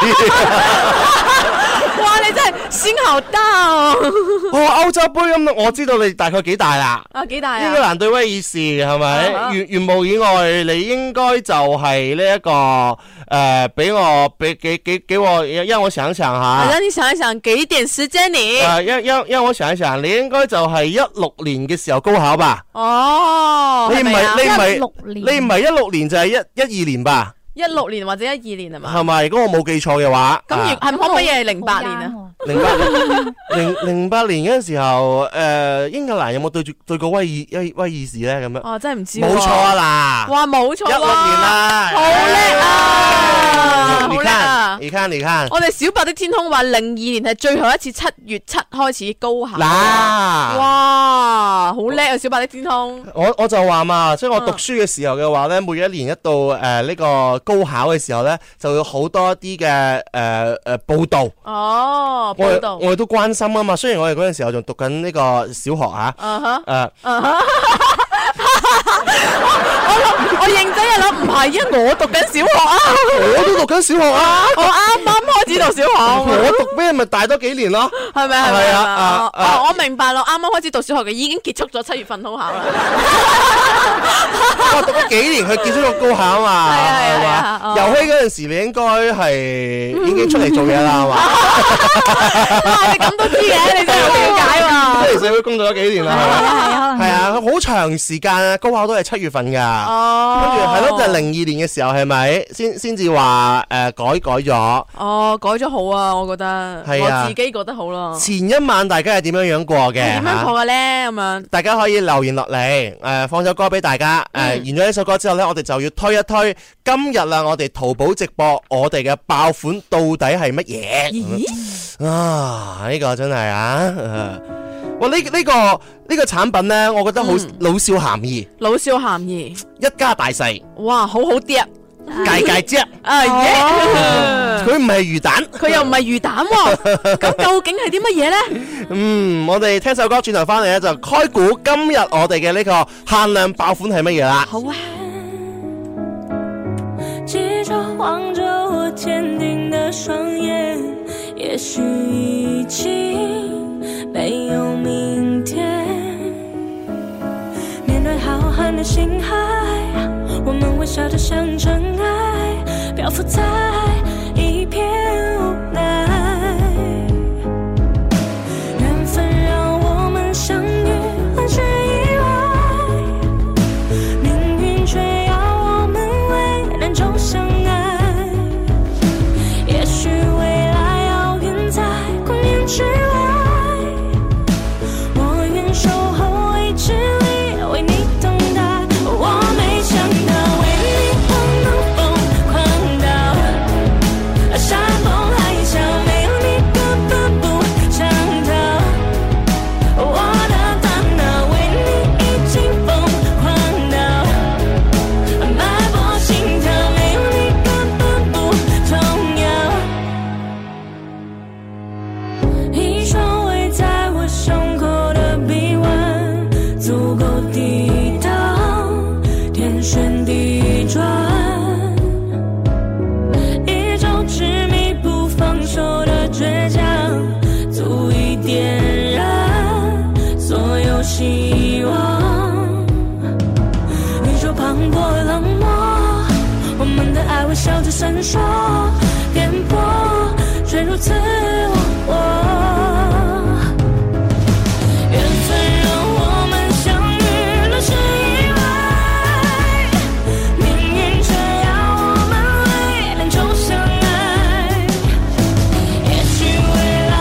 哇！你真係心好大哦！ 歐洲杯咁，我知道你大概幾大啦？ 幾大啊？ 英格蘭對威爾士係咪？原無以外，你應該就係呢一個俾我，讓我想想吓。 讓你想一想，給一點時間你。 讓我想一想，你應該就係16年嘅時候高考吧？ 哦， 你唔係 16 年就係12年吧 ？16年或者12年係嘛？ 係咪？如果我冇記錯嘅話， 咁係可唔可以係08年啊 ？08年嗰陣時候，英格蘭有冇對過威爾士咧？咁樣哦，真係唔知。 冇錯啊嗱！ 哇，冇錯 16年啦， 好叻啊！好叻啊！ 你看， 我哋小白的天空話02年係最後一次7月7開始高考。 嗱， 哇，好叻啊！小白的天空。 我就話嘛，即係我讀書嘅時候嘅話咧，每一年一到呢個高考嘅時候咧，就有好多啲嘅報道。 哦，報道。 我哋都關心啊嘛，雖然我哋嗰陣時候仲讀緊呢個小學啊。 我認真一諗，唔係，因為我讀緊小學啊。 我都讀緊小學啊。 我啱啱開始讀小學。 我讀咩咪大多幾年咯？ 係咪？ 係啊。 我明白咯，啱啱開始讀小學嘅已經結束咗7月份高考啦。 我讀咗幾年去結束個高考啊嘛。係嘛？遊戲嗰陣時你應該係已經出嚟做嘢啦，係嘛？ 哇！你咁都知嘅，你真係好了解喎。 出嚟社會工作咗幾年啦，係啊，好長時間啊，高考都係7月份噶。哦，跟住係咯，就係02年嘅時候係咪先至話改咗？ 哦，改咗好啊，我覺得，我自己覺得好咯。 前一晚大家係點樣過嘅？ 點樣過嘅咧？咁樣大家可以留言落嚟，放首歌俾大家。完咗呢首歌之後咧，我哋就要推一推今日啦，我哋淘寶直播我哋嘅爆款到底係乜嘢？咦？啊，呢個真係啊！哇，呢個產品咧，我覺得好老少咸宜。老少咸宜，一家大細。哇，好好啲啊！界啫，佢唔係魚蛋，佢又唔係魚蛋喎，咁究竟係啲乜嘢咧？我哋聽首歌轉頭翻嚟咧，就開估今日我哋嘅呢個限量爆款係乜嘢啦。好啊。記着望着我堅定的雙眼，也許已經沒有明天，面對浩瀚的星海，我們微笑着像塵埃，漂浮在一片無奈。緣分讓我們相遇，很是意外，命運卻要我們為難中相愛。也許未來遙遠在光年之外，我願守候未知裡為你等待。我沒想到為你我能瘋狂到山崩海嘯，沒有你根本不想逃。我的大腦為你已經瘋狂到脈搏心跳，沒有你根本不重要。一雙圍在我胸口的臂彎，足夠抵擋天旋地轉，一種執迷不放手的倔強，足以點燃所有希望。宇宙磅礴冷漠，我們的愛微笑着閃爍，顛簸卻如此忘我。緣分讓我們相遇，那是意外，命運卻要我們為難中相愛。也許未來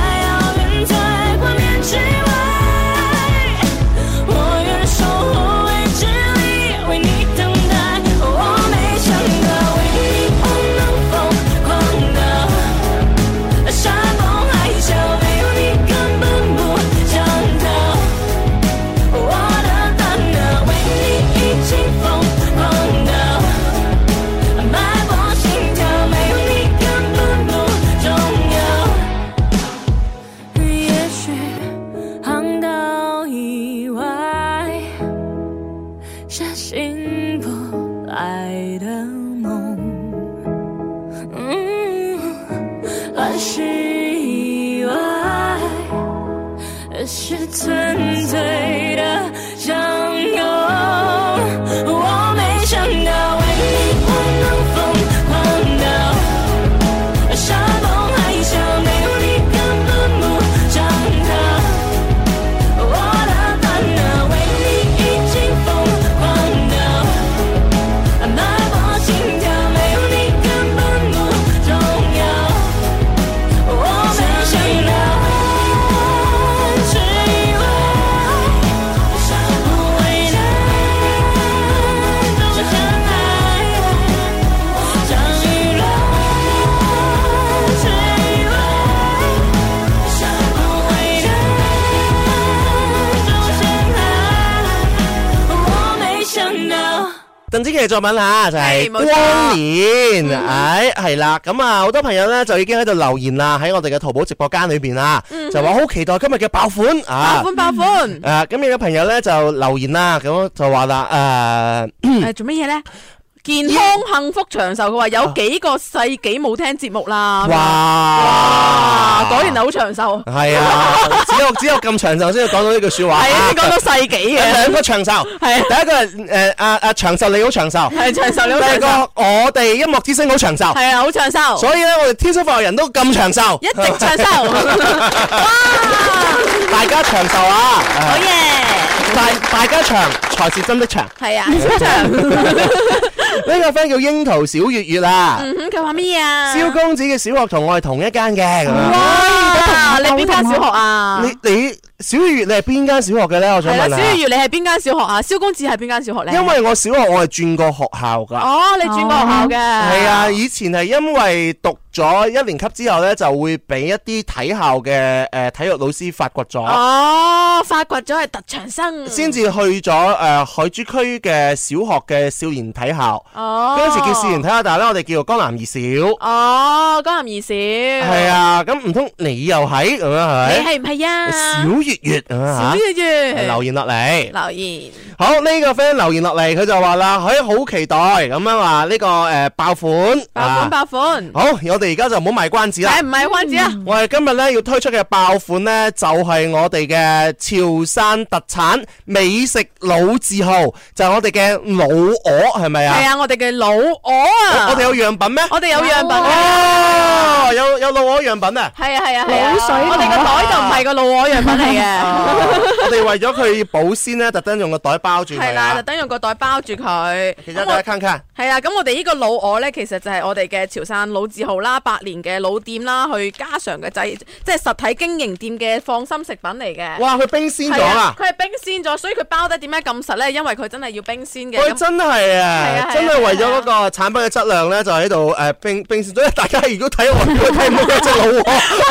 是纯粹的相拥。我没想到为你我能疯狂到山崩海啸，没有你根本不想逃。我的烦恼为你已经疯狂到脉搏心跳，没有你根本不重要。我没想到只以为未来就像爱，相遇了只以为未来就像愛，我沒想到。 鄧紫棋嘅作品嚇就係光年，係啦，咁啊好多朋友咧就已經喺度留言啦，喺我哋嘅淘寶直播間裏邊啦，就話好期待今日嘅爆款啊！ 爆款！ 咁有個朋友咧就留言啦，咁就話啦做乜嘢咧？健康幸福長壽，佢話有幾個世紀冇聽節目啦。哇！果然係好長壽。係啊，只有咁長壽先要講到呢句説話。係先講到世紀嘅。 兩個長壽。係。第一個係長壽你好長壽。係長壽你好長壽。第二個我哋音樂之聲好長壽。係啊，好長壽。所以咧，我哋天生快活人都咁長壽。一直長壽。哇！大家長壽啊！好嘢！大家長才是真的長。係啊，超長。呢個 friend 叫櫻桃小月月啊， 佢話咩啊？ 蕭公子嘅小學同我係同一間嘅。 哇！你邊間小學啊？ 你小月月你係邊間小學嘅咧？我想問下。 小月月你係邊間小學啊？蕭公子係邊間小學咧？ 因為我小學我係轉過學校㗎。 哦，你轉過學校嘅。 係啊，以前係因為讀咗一年級之後咧，就會俾一啲體校嘅體育老師發掘咗。 哦，發掘咗係特長生。先至去咗海珠區嘅小學嘅少年體校。哦。嗰陣時叫少年體校，但係咧我哋叫做江南二小。 哦，江南二小。 係啊，咁唔通你又係咁樣係咪？ 你係唔係啊？ 小月月啊， 小月月留言落嚟。 留言。 好，呢個 friend 留言落嚟，佢就話啦，佢好期待咁樣話呢個爆款。 爆款。 好，我哋而家就唔好賣關子啦。 係唔係關子啊？ 我哋今日咧要推出嘅爆款咧，就係我哋嘅潮汕特產美食老字號，就係我哋嘅老鵝，係咪啊？ 係啊，我哋嘅老鵝啊！ 我哋有樣品咩？ 我哋有樣品哦，有老鵝樣品啊！ 係啊係啊係啊！我哋個袋就唔係個老鵝樣品嚟嘅。 我哋為咗佢保鮮咧，特登用個袋包住佢。 係啦，特登用個袋包住佢。 其實大家看看。 係啊，咁我哋呢個老鵝咧，其實就係我哋嘅潮汕老字號啦，100年嘅老店啦，去家常嘅即係實體經營店嘅放心食品嚟嘅。 哇！佢冰鮮咗啦！ 佢係冰鮮咗，所以佢包得點解咁實咧？因為佢真係要冰鮮嘅。 佢真係啊！真係為咗嗰個產品嘅質量咧，就喺度冰鮮咗。大家如果睇我睇唔到嗰隻老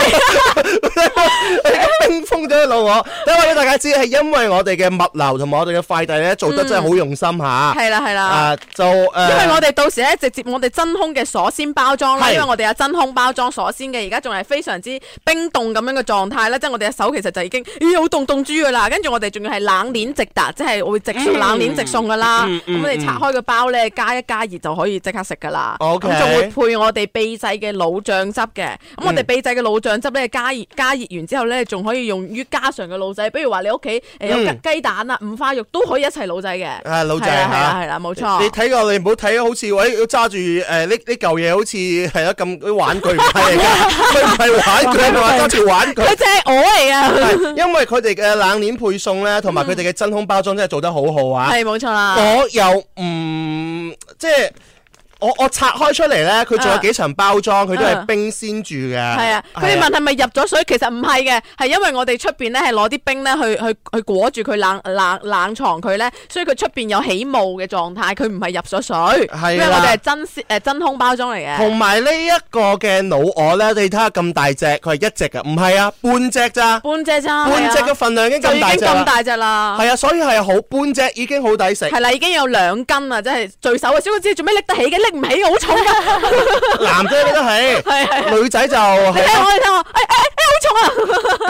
鵝，冰封咗隻老鵝。等我俾大家知，係因為我哋嘅物流同埋我哋嘅快遞咧做得真係好用心嚇。 係啦係啦。因為我哋到時咧直接我哋真空嘅鎖鮮包裝啦，因為我哋有真空包裝鎖鮮嘅，而家仲係非常之冰凍咁樣嘅狀態咧，即係我哋嘅手其實就已經好凍豬㗎啦，跟住我哋仲要係冷鏈直達，即係會冷鏈直送㗎啦。咁我哋拆開個包咧，加一加熱就可以即刻食㗎啦。咁仲會配我哋秘製嘅老醬汁嘅。咁我哋秘製嘅老醬汁咧，加熱完之後咧，仲可以用於家常嘅老仔，比如話你屋企有雞蛋啊、五花肉都可以一齊老仔嘅。 老仔係啦，冇錯。 你睇過你唔好睇好似要揸住呢嚿嘢，好似係啊咁啲玩具，唔係嚟㗎，佢唔係玩具，係話揸住玩具。佢真係鵝嚟㗎。 因為佢哋嘅冷鏈配送咧，同埋佢哋嘅真空包裝真係做得好好啊。 係冇錯啦。 我又唔即係。我拆開出嚟咧，佢仲有幾層包裝，佢都係冰鮮住嘅。係啊， 佢哋問係咪入咗水？其實唔係嘅，係因為我哋出邊咧係攞啲冰咧去裹住佢冷藏佢咧，所以佢出邊有起霧嘅狀態，佢唔係入咗水。係因為我哋係真空包裝嚟嘅。同埋呢一個嘅老鵝咧，你睇下咁大隻，佢係一隻㗎，唔係啊，半隻咋？半隻嘅份量已經咁大隻啦。咁大隻啦。係啊，所以係好半隻已經好抵食。係啦，已經有2斤啊，即係最手啊！小公子做咩拎得起嘅？拎唔起，好重噶。男仔拎得起，係女仔就你睇我，好重啊！咁呢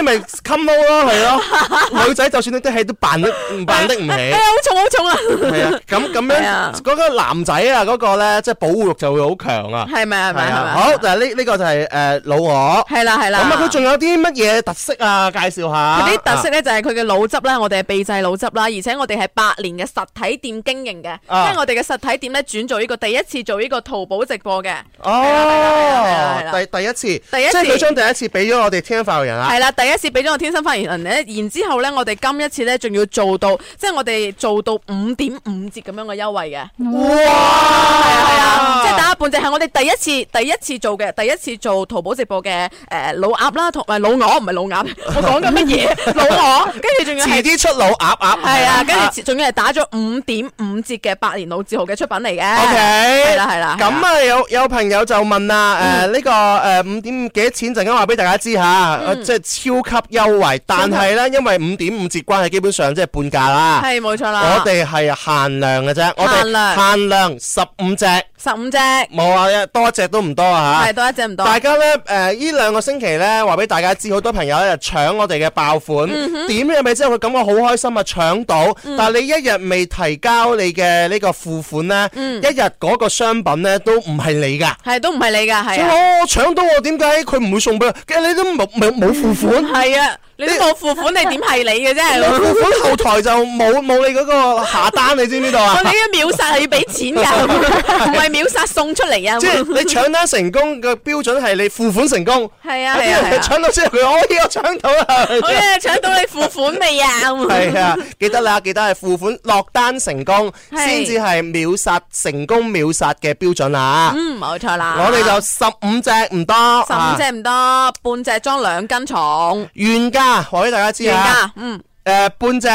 你咪 come out 咯，係咯。女仔就算你啲戲都扮得唔起。 好重好重啊！ 係啊，咁樣嗰個男仔啊，嗰個咧即係保護欲就會好強啊。 係咪？ 好，但係呢個就係老鵝。 係啦。 咁啊，佢仲有啲乜嘢特色啊？介紹下。 佢啲特色咧就係佢嘅滷汁啦，我哋係秘製滷汁啦，而且我哋係8年嘅實體店經營嘅，即係我哋嘅實體店咧轉做呢個第一次做呢個淘寶直播嘅。 第一次，即係佢將第一次俾咗我哋天生發育人啊。係啦， 第一次俾咗我天生發育人咧，然之後咧我哋今一次咧仲要做到，即係我哋做到5.5折咁樣嘅優惠嘅。哇！係啊，即係打半隻係我哋第一次做嘅，第一次做淘寶直播嘅老鴨啦，同埋老鵝，唔係老鴨，我講緊乜嘢？老鵝，跟住仲要遲啲出老鴨。 係啊，跟住仲要係打咗5.5折嘅百年老字號嘅出品嚟嘅。 OK， 係啦。 咁啊，有朋友就問啦，呢個5.5幾多錢？陣間話俾大家知下，即係超級優惠。但係咧，因為5.5折關係，基本上即係半價啦。係冇錯啦。我哋係限量嘅啫，我哋限量15隻。15隻。冇啊，多一隻都唔多啊嚇。係多一隻唔多。大家咧呢2個星期咧話俾大家知，好多朋友咧就搶我哋嘅爆款，點入咪之後佢感覺好開心啊，搶到。但係你一日未提交你嘅呢個付款咧，一日嗰個商品咧都唔係你㗎。係都唔係你㗎，係。我搶到我點解佢唔會送俾我？其實你都冇付款。係啊。你都冇付款，你點係你嘅啫？付款後台就冇你嗰個下單，你知唔知道啊？我哋嘅秒殺係要俾錢㗎，唔係秒殺送出嚟啊！即係你搶單成功嘅標準係你付款成功。係啊，搶到之後佢我搶到啦！好嘢，搶到你付款未啊？係啊，記得啦，記得係付款落單成功先至係秒殺成功秒殺嘅標準啊！冇錯啦。我哋就15隻唔多，15隻唔多，半隻裝2斤重，原價。話俾大家知啊，半隻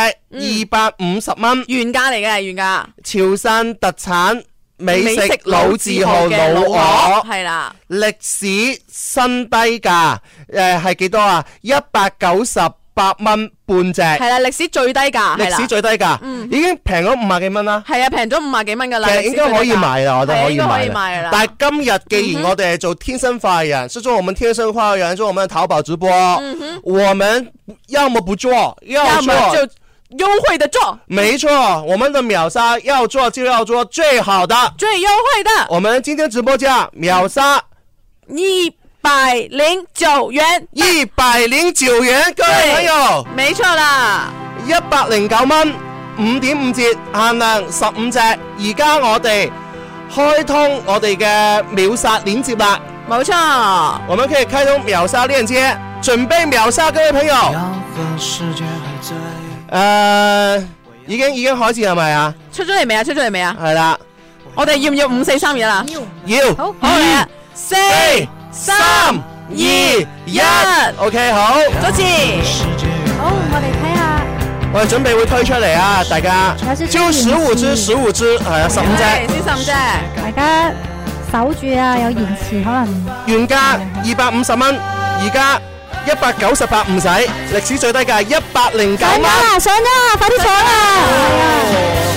250蚊，原價嚟嘅，原價。潮汕特產美食老字號老鵝，係啦，歷史新低價，係幾多啊？198蚊半隻，係啦，歷史最低價，歷史最低價，已經平咗50幾蚊啦。係啊，平咗50幾蚊噶啦，其實應該可以買啦，我覺得可以買啦。但係今日既然我哋係做天生快活人，是做我們天生快活人，做我們的淘寶直播，我們要麼不做，要麼就優惠的做。沒錯，我們的秒殺要做就要做最好的，最優惠的。我們今天直播價秒殺109元，109元，各位朋友，沒錯啦，109蚊，5.5折，限量15隻。而家我哋開通我哋嘅秒殺鏈接啦，冇錯，我們可以開通秒殺鏈接，準備秒殺，各位朋友。已經開始係咪啊？出咗嚟未啊？出咗嚟未啊？係啦，我哋要唔要5、4、3、2啦？要，好嚟啊！4、3、2、1 ，OK， 好，多次，好，我哋睇下，我哋準備會推出嚟啊，大家，就15支，係啊，15隻，先15隻，大家守住啊，有延遲可能。原價250蚊，而家198唔使，歷史最低價109蚊。上咗啦，快啲坐啦！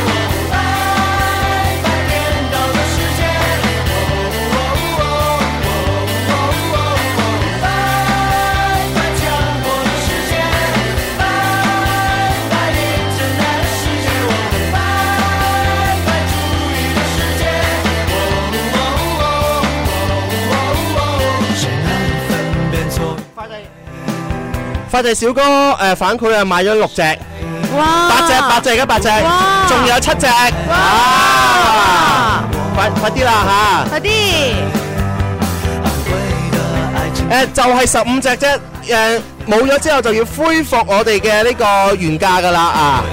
快遞小哥反饋啊，買咗6隻，哇！8隻，而家8隻，仲有7隻，哇！快啲啦嚇！快啲！就係15隻啫，冇咗之後就要恢復我哋嘅呢個原價噶啦啊！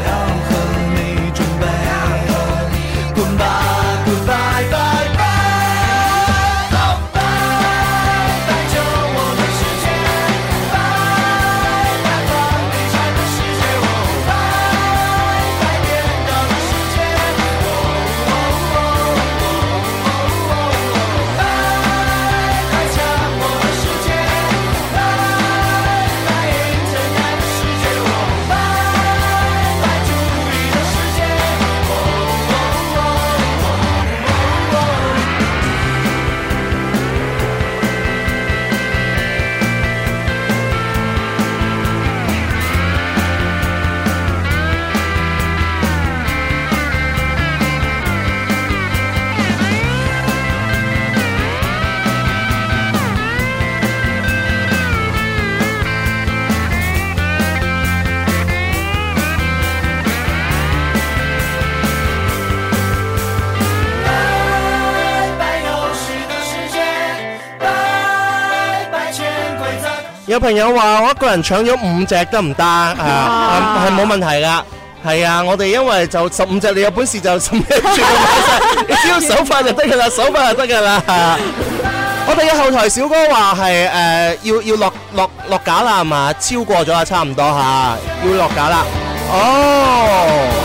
有朋友話我一個人搶咗5隻得唔得？係冇問題噶。係啊，我哋因為就15隻，你有本事就15隻全部買晒，你只要手快就得噶啦，手快就得噶啦。我哋嘅後台小哥話係要落架啦，係嘛？超過咗啊，差唔多吓，要落架啦。哦。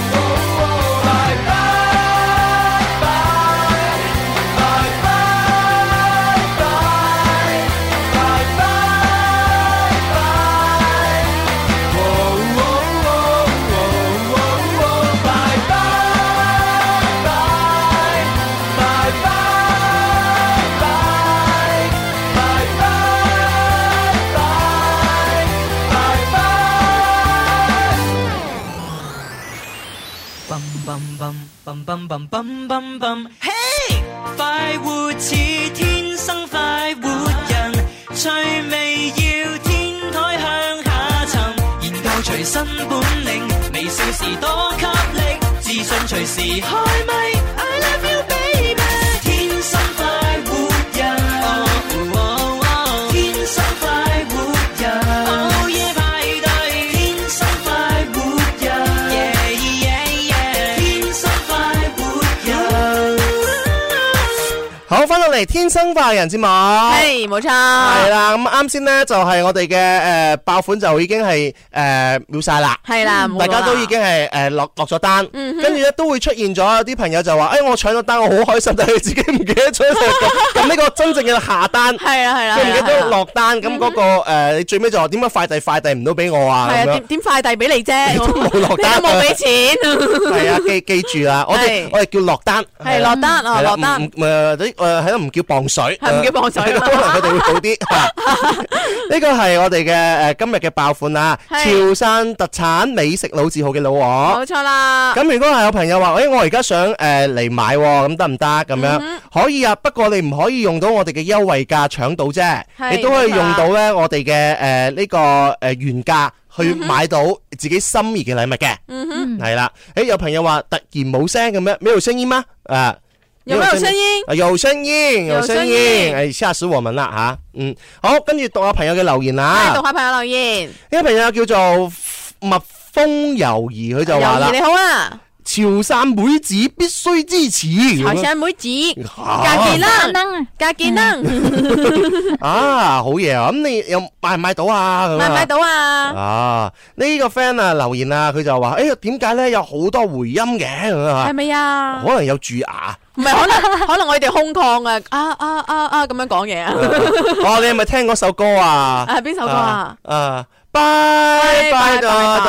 嘿，快活似天生快活人，趣味要天台向下沉，研究隨身本領，微笑時多給力，自信隨時開咪。I love you baby， 天生快活人，天生快活人，午夜派對，天生快活人，天生快活人。 好，翻到嚟天生快活人節目， 係冇錯， 係啦。咁啱先咧就係我哋嘅爆款就已經係秒晒啦， 係啦， 大家都已經係落咗單，跟住咧都會出現咗有啲朋友就話，我搶咗單，我好開心，但係自己唔記得咗咁呢個真正嘅下單， 係啦係啦， 佢唔記得落單，咁嗰個你最尾就話點解快遞唔到俾我啊？ 係啊，點快遞俾你啫？ 你都冇落單， 你都冇俾錢。 係啊，記住啦，我哋叫落單， 係落單啊，落單。 係咯，唔叫磅水， 係唔叫磅水， 可能佢哋會好啲。呢個係我哋嘅今日嘅爆款啊！潮汕特產美食老字號嘅老鵝， 冇錯啦。 咁如果係有朋友話，我而家想嚟買，咁得唔得？咁樣可以啊，不過你唔可以用到我哋嘅優惠價搶到啫，你都可以用到咧我哋嘅呢個原價去買到自己心儀嘅禮物嘅。係啦，有朋友話突然冇聲咁樣，沒有聲音嗎？ 有沒有聲音？ 有聲音，有聲音，嚇死我們啦吓！好，跟住讀下朋友嘅留言啦。 讀下朋友留言。 呢個朋友叫做蜜蜂猶兒，佢就話啦： 你好啊！ 潮汕妹子必須支持。 潮汕妹子，加健啦，加健啦。 啊，好嘢啊！咁你又買唔買到啊？ 買唔買到啊？ 啊，呢個 friend 啊留言啊，佢就話：點解咧有好多回音嘅？係咪啊？ 可能有蛀牙。 唔係，可能我哋空曠啊咁樣講嘢啊！ 你係咪聽嗰首歌啊？ 邊首歌啊？ 拜拜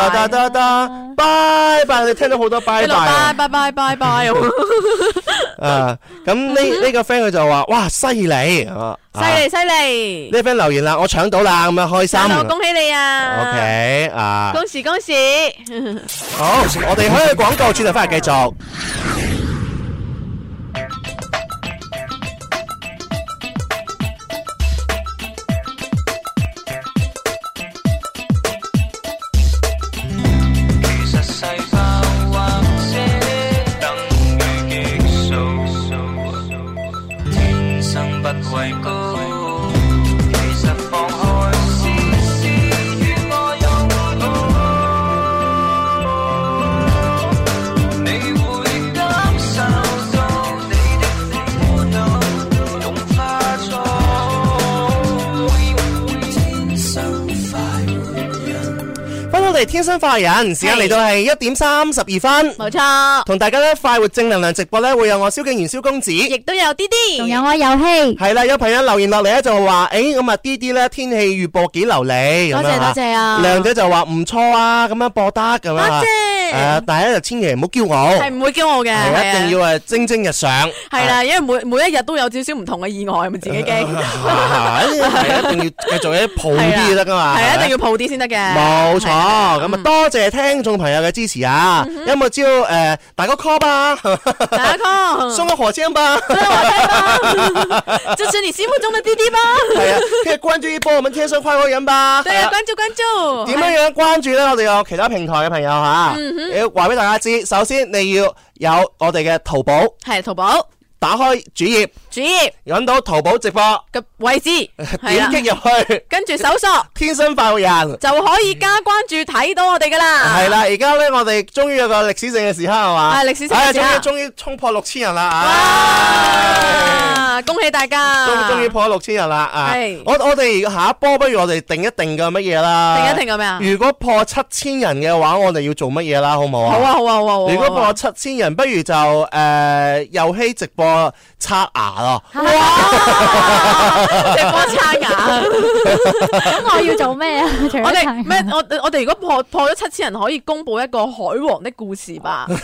拜拜，你聽到好多拜拜， 拜拜拜拜咁呢個 friend 佢就話：哇，犀利， 犀利！ 呢個 friend 留言啦，我搶到啦，咁樣開心， 恭喜你啊 ！OK 恭喜！ 好，我哋可以廣告轉頭翻嚟繼續。天生快活人，時間嚟到係1點32分， 冇錯。 同大家咧快活正能量直播咧，會有我蕭敬元蕭公子， 亦都有啲啲， 仲有我遊戲。 係啦，有朋友留言落嚟咧就話，咁啊啲啲咧天氣預報幾流利， 多謝啊。 亮姐就話唔錯啊，咁樣播得咁樣。 多謝。 大家就千祈唔好驕傲， 係唔會驕傲嘅， 一定要蒸蒸日上。 係啦，因為每一日都有少少唔同嘅意外，咪自己驚。 係一定要繼續啲抱啲得噶嘛， 係一定要抱啲先得嘅。 冇錯，咁啊多謝聽眾朋友嘅支持啊！有冇招打個 call 吧？ 打個 call， 送個火箭吧， 支持你心目中的滴滴吧。 係啊，可以關注一波我們天生快活人吧。 對啊，關注。 點樣關注咧？我哋有其他平台嘅朋友吓，要話俾大家知。首先你要有我哋嘅淘寶， 係淘寶。 打開主頁，揾到淘寶直播嘅位置， 點擊入去， 跟住搜索天生快活人就可以加關注睇到我哋噶啦。 係啦，而家咧我哋終於有個歷史性嘅時刻係嘛？ 係歷史性嘅時刻， 終於衝破6000人啦！ 哇！恭喜大家！ 終於破咗6000人啦！係我哋下一波，不如我哋定一定嘅乜嘢啦？ 定一定嘅咩啊？ 如果破7000人嘅話，我哋要做乜嘢啦？好唔好啊？ 好啊好啊好啊！ 如果破7000人，不如就遊戲直播刷牙咯！ 哇！直播刷牙， 咁我要做咩啊？ 我哋咩？我哋如果破咗7000人，可以公布一個海王的故事吧？ 你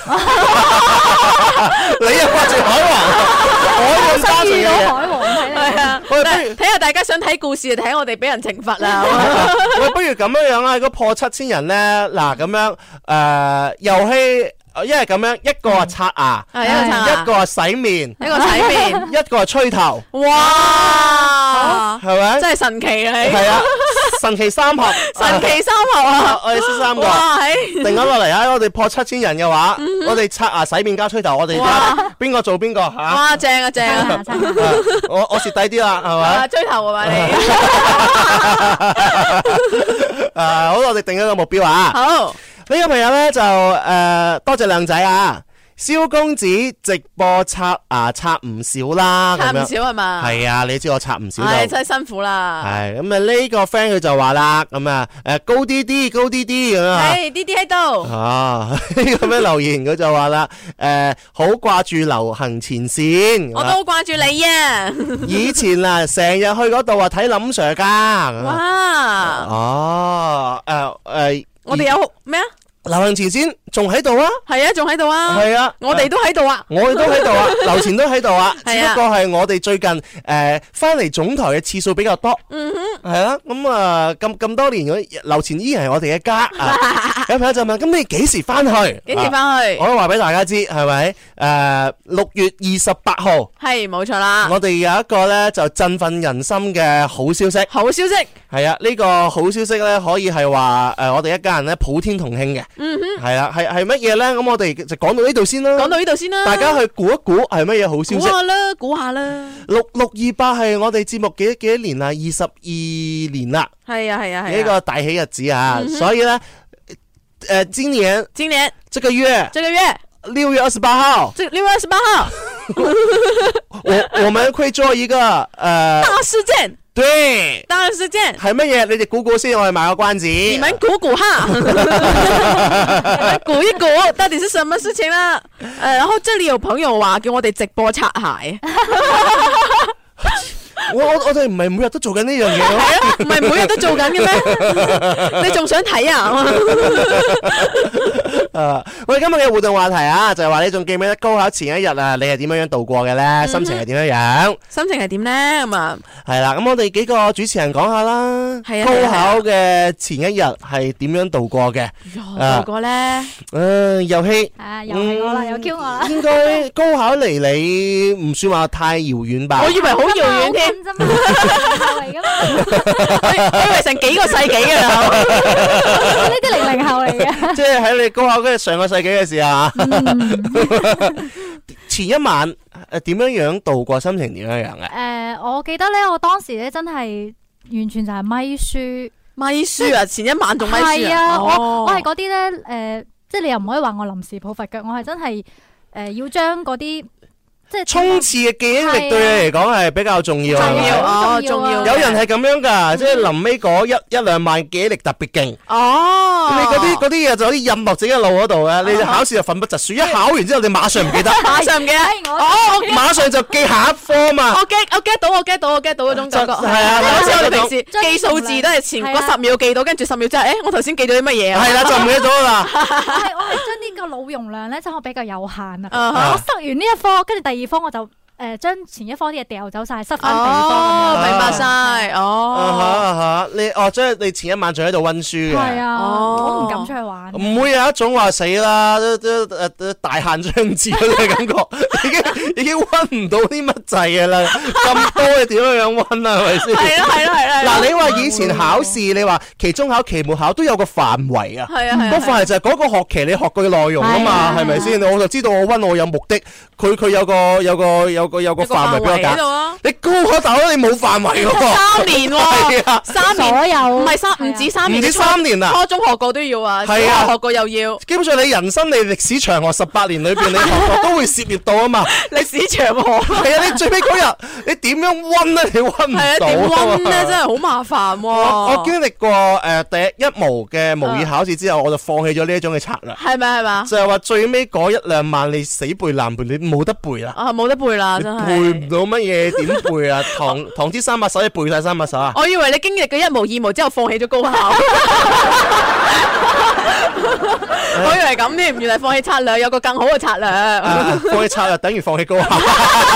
又掛住海王，我想遇到海王睇啊！睇下大家想睇故事，睇我哋俾人懲罰啦！ 喂，不如咁樣啦，如果破7000人咧，嗱咁樣遊戲。因為咁樣，一個係刷牙，一個係洗面，一個係吹頭。 哇！ 係咪？ 真係神奇啊！ 係啊，神奇三合， 神奇三合啊！ 我哋識3個，定咗落嚟啊！我哋破7000人嘅話，我哋刷牙、洗面加吹頭，我哋邊個做邊個吓？ 哇！正啊正啊！ 我蝕底啲啦，係咪？ 吹頭啊嘛你。 好，我哋定咗個目標啊！ 好。 呢個朋友咧就多謝靚仔啊，蕭公子直播刷牙刷唔少啦， 刷唔少係嘛？ 係啊，你知我刷唔少就係真係辛苦啦。 係咁啊，呢個 friend 佢就話啦，咁啊高啲啲咁啊， 係啲啲喺度。 啊呢個咩留言佢就話啦，好掛住流行前線， 我都好掛住你啊！ 以前啊成日去嗰度啊睇林 Sir 噶。 哇！ 哦我哋有咩啊？ 流行前線仲喺度啊？ 係啊，仲喺度啊？ 係啊， 我哋都喺度啊！ 我哋都喺度啊，劉前都喺度啊，只啊不過係我哋最近翻嚟總台嘅次數比較多。係啊，咁啊咁多年，劉前依然係我哋嘅家啊。有朋友就問：咁你幾時翻去？ 幾時翻去？ 我都話俾大家知，係咪？6月28號係冇錯啦。 我哋有一個咧就振奮人心嘅好消息。 好消息係啊，呢個好消息咧可以係話我哋一家人咧普天同慶嘅。係啊，係乜嘢咧？咁我哋就講到呢度先啦。講到呢度先啦。 大家去估一估係乜嘢好消息？ 估下啦。 628係我哋節目幾多年啦？22年啦。係啊。呢個大喜日子啊！所以咧，今年這個月6月28號 ，6月28號， 我們會做一個大事件。 對， 大事件係乜嘢？你哋估估先，我哋賣個關子。 你們估估哈，你們估一估，到底是什麼事情啦？然後這裏有朋友話叫我哋直播擦鞋。 我哋唔係每日都做緊呢樣嘢咯， 係啊，唔係每日都做緊嘅咩？你仲想睇啊？ 我哋今日嘅互動話題啊，就係話你仲記唔記得高考前一日啊，你係點樣度過嘅咧？心情係點樣？ 心情係點咧？咁啊， 係啦，咁我哋幾個主持人講下啦。係啊，高考嘅前一日係點樣度過嘅？ 度過咧？ 遊戲又係我啦，又 Q 我啦。 應該高考離你唔算話太遙遠吧？ 我以為好遙遠添。啫嘛，嚟噶嘛，我以為成幾個世紀嘅啦， 呢啲00後嚟嘅， 即係喺你高考嗰日上個世紀嘅時候，前一晚點樣度過，心情點樣嘅？ 我記得咧，我當時咧真係完全就係咪書啊！前一晚仲咪書係啊！我係嗰啲咧，即係你又唔可以話我臨時抱佛腳，我係真係要將嗰啲。 衝刺嘅記憶力對你嚟講係比較重要， 重要。 有人係咁樣噶，即係臨尾嗰一兩晚記憶力特別勁。你嗰啲嘢就可以印落自己嘅腦嗰度嘅，你考試就奮不疾書，一考完之後你馬上唔記得， 馬上唔記得。 馬上就記下一科嘛。 我 get 到嗰種感覺。係啊， 好似我哋平時記數字都係前嗰10秒記到，跟住10秒之後，我頭先記到啲乜嘢啊？ 係啦，就唔記得咗啦。 我係將呢個腦容量咧，真係比較有限啊。我塞完呢一科，跟住第二科我就將前一科啲嘢掉走晒，塞翻第二科咁樣。 明白晒。 即係你前一晚仲喺度溫書嘅。 係啊，我唔敢出去玩。 唔會有一種話死啦，大限將至嗰啲感覺，已經溫唔到啲乜滯嘅啦。咁多你點樣溫啊？係咪先？ 係啦。 嗱，你話以前考試，你話期中考、期末考都有個範圍啊。 係啊。 嗰範圍就係嗰個學期你學過嘅內容啊嘛，係咪先？我就知道我溫我有目的，佢有個範圍俾我揀。你高考大佬你冇範圍喎 ，3年喎，3年所有唔止3年， 唔止3年啊！ 初中學過都要啊，小學學過又要。 基本上你人生你歷史長河18年裏邊，你學過都會涉獵到啊嘛。 歷史長河係啊！你最尾嗰日你點樣溫咧？你溫唔到。係啊， 點溫咧？真係好麻煩喎。 我經歷過第一模嘅模擬考試之後，我就放棄咗呢一種嘅策略。 係咪？ 就係話最尾嗰1-2晚你死背爛背，你冇得背啦。 冇得背啦，真係背唔到乜嘢，點背啊？唐詩300首你背晒300首啊？ 我以為你經歷嘅1模2模之後放棄咗高考。我以為咁添，原來放棄策略有個更好嘅策略。 放棄策略等於放棄高考。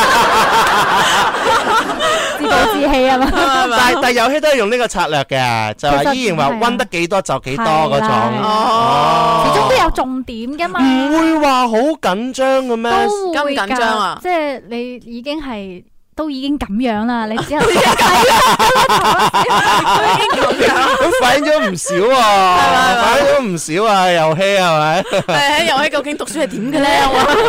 自暴自棄啊嘛。 但遊戲都係用呢個策略嘅，就係依然話溫得幾多就幾多嗰種。 始終都有重點噶嘛。 唔會話好緊張嘅咩？ 都會緊張啊！ 即係你已經係。都已經咁樣啦，你之後已經咁樣， 咁反映咗唔少啊，反映咗唔少啊，遊戲係咪？ 喺遊戲究竟讀書係點嘅咧？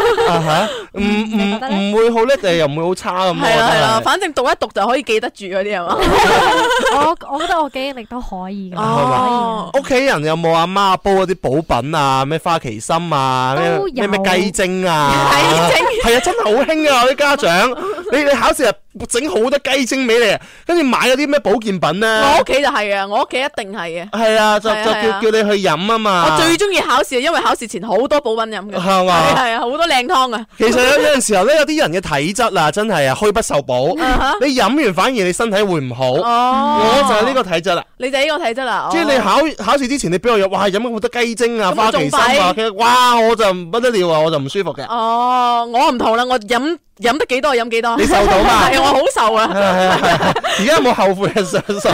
唔會好叻定又唔會好差咁。 係啦，反正讀一讀就可以記得住嗰啲係嘛？ 我覺得我記憶力都可以嘅。 哦，屋企人有冇阿媽煲嗰啲補品啊？咩花旗參啊？咩雞精啊？ 雞精係啊，真係好興啊！啲家長，你考試整好多雞精俾你，跟住買嗰啲咩保健品咧？ 我屋企就係啊，我屋企一定係嘅。 係啊，就叫你去飲啊嘛。 我最中意考試，因為考試前好多補品飲嘅。係嘛？係啊，好多靚湯啊。 其實有陣時候咧，有啲人嘅體質啊，真係啊，虛不受補。你飲完反而你身體會唔好。我就係呢個體質啦。 你就係呢個體質啦。即係你考試之前，你俾我飲咗好多雞精啊、花旗參啊，哇，我就不得了啊，我就唔舒服嘅。 我唔同啦，我飲得幾多飲幾多。 你受到嘛？ 係我好受啊！ 而家有冇後悔嘅上手？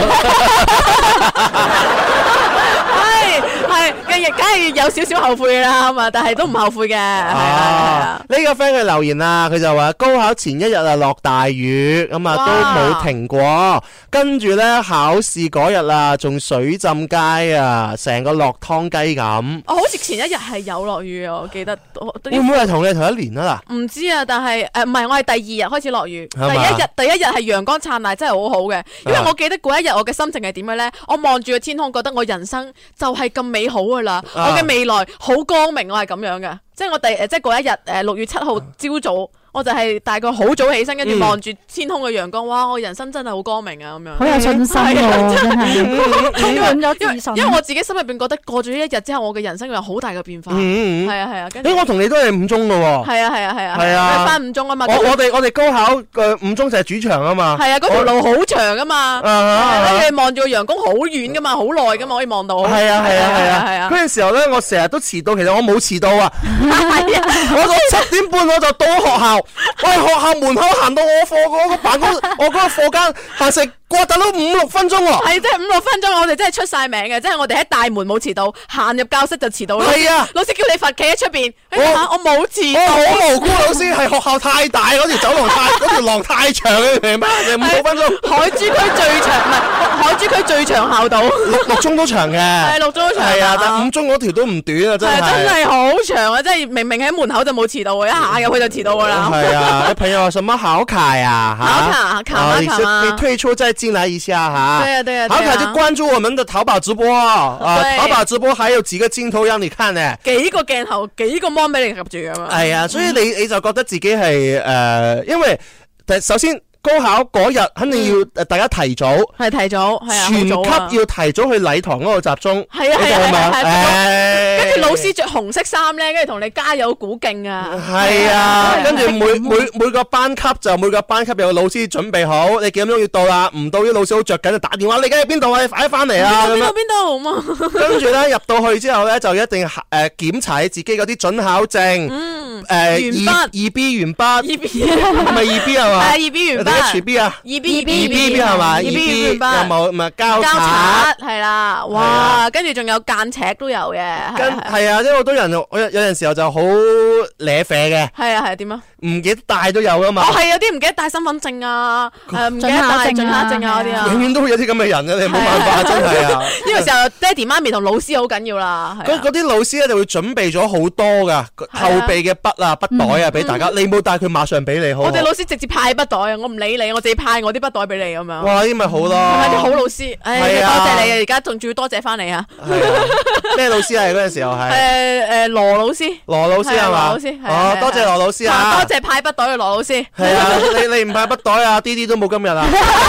係，梗係有少少後悔啦嘛，但係都唔後悔嘅。 呢個 friend 嘅留言啊，佢就話高考前一日啊落大雨，咁啊都冇停過，跟住咧考試嗰日啊仲水浸街啊，成個落湯雞咁。 好似前一日係有落雨啊，我記得。 會唔會係同你同一年啊？嗱， 唔知啊，但係唔係，我係第2日開始落雨，第一日係陽光燦爛，真係好好嘅。因為我記得嗰一日我嘅心情係點嘅咧？我望住個天空，覺得我人生就係咁美好噶啦，我嘅未來好光明，我係咁樣嘅。即係我即係嗰一日6月7號朝早。我就係大概好早起身，跟住望住天空嘅陽光，哇！我人生真係好光明啊，咁樣。 好有信心喎，真係充滿咗自信。 因為我自己心入邊覺得過咗呢一日之後，我嘅人生有好大嘅變化。係啊。 我同你都係5中嘅喎。 係啊。翻5中啊嘛。 我哋高考嘅5中就係主場啊嘛。 係啊，嗰條路好長啊嘛。跟住望住個陽光好遠噶嘛，好耐噶嘛，可以望到。 係啊。嗰陣時候咧，我成日都遲到，其實我冇遲到啊。 係啊。 我到7點半我就到學校。我喺學校門口行到我課嗰個辦公，我嗰個課間行成過等到5-6分鐘喎。 係，即係5-6分鐘，我哋真係出晒名嘅，即係我哋喺大門冇遲到，行入教室就遲到啦。係啊，老師叫你罰企喺出邊，我冇遲到。 我好無辜，老師係學校太大，嗰條走廊嗰條廊太長嘅，明白？就5-6分鐘。 海珠區最長唔係海珠區最長校道。 6中都長嘅。係 6中都長。 係啊，但5中嗰條都唔短啊，真係。 真係好長啊！即係明明喺門口就冇遲到嘅，一下入去就遲到噶啦。 係啊，朋友話什麼考卡呀？ 考卡你退出再進來一下哈。 對啊。 考卡就關注我們的淘寶直播淘寶直播還有幾個鏡頭讓你看呢？ 幾個鏡頭，幾個 mon 俾你及住噶嘛？ 係啊，所以你就覺得自己係因為首先高考嗰日肯定要大家提早， 係啊， 全級要提早去禮堂嗰度集中， 係啊，跟跟住老師着紅色衫咧，跟住同你加油鼓勁啊！ 係啊，跟住每個班級有個老師準備好，你幾點鐘要到啦？唔到啲老師好着緊就打電話，你而家喺邊度啊？你快啲翻嚟啊！ 邊度咁啊？ 跟住咧入到去之後咧，就一定檢查你自己嗰啲準考證。 鉛筆二 B 鉛筆 ，2B 唔係2 B 係嘛？ 係2 B 鉛筆 ，HB 啊 ，2 B 係嘛 ？2 B 鉛筆有冇唔係膠擦係啦，哇！跟住仲有間尺都有嘅， 係啊，因為好多人有陣時候就好瀨啡嘅， 係啊點啊？ 唔記得帶都有噶嘛。 係有啲唔記得帶身份證啊，唔記得帶準考證啊嗰啲啊。 永遠都會有啲咁嘅人嘅，你冇辦法，真係啊！ 呢個時候爹哋媽咪同老師好緊要啦。 嗰啲老師咧就會準備咗好多噶後備嘅筆啊、筆袋啊俾大家，你冇帶佢馬上俾你好。 我哋老師直接派筆袋啊，我唔理你，我自己派我啲筆袋俾你咁樣。 哇！呢咪好咯， 係咪啲好老師？多謝你啊！而家仲要多謝翻你啊！ 咩老師啊？嗰陣時候係羅老師。 羅老師係嘛？ 羅老師哦，多謝羅老師啊！ 多謝派筆袋嘅羅老師。 係啊，你唔派筆袋啊，啲都冇今日啊！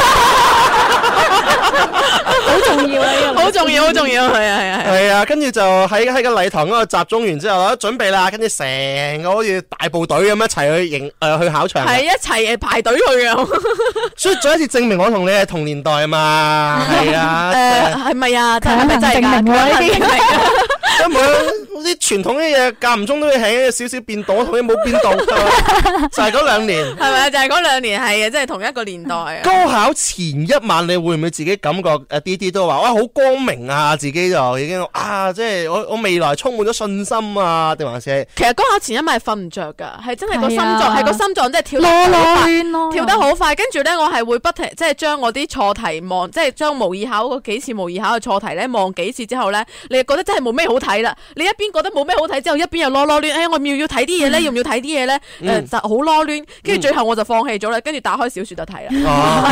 好重要啊！ 好重要，係啊！跟住就喺個禮堂嗰度集中完之後，準備啦，跟住成個好似大部隊咁一齊去考場， 係一齊排隊去啊！ 所以再一次證明我同你係同年代啊嘛，係啊， 係咪啊？係咪真係㗎？呢啲因為啲傳統啲嘢間唔中都會起少少變動，同你冇變動，就係嗰2年， 係咪啊？就係嗰2年係啊，即係同一個年代啊！ 高考前一晚，你會唔會自己感覺啲都話哇好光明啊？自己就已經即係我未來充滿咗信心啊？定還是其實高考前一晚係瞓唔着㗎，係真係個心臟即係跳得好快，跳得好快。跟住咧，我係會不停即係將我啲錯題望，即係將模擬考嗰幾次模擬考嘅錯題咧望幾次之後咧，你覺得真係冇咩好睇啦。你一邊覺得冇咩好睇之後，一邊又囉攣，我要睇啲嘢咧，要唔要睇啲嘢咧？就好囉攣，跟住最後我就放棄咗啦，跟住打開小説就睇啦。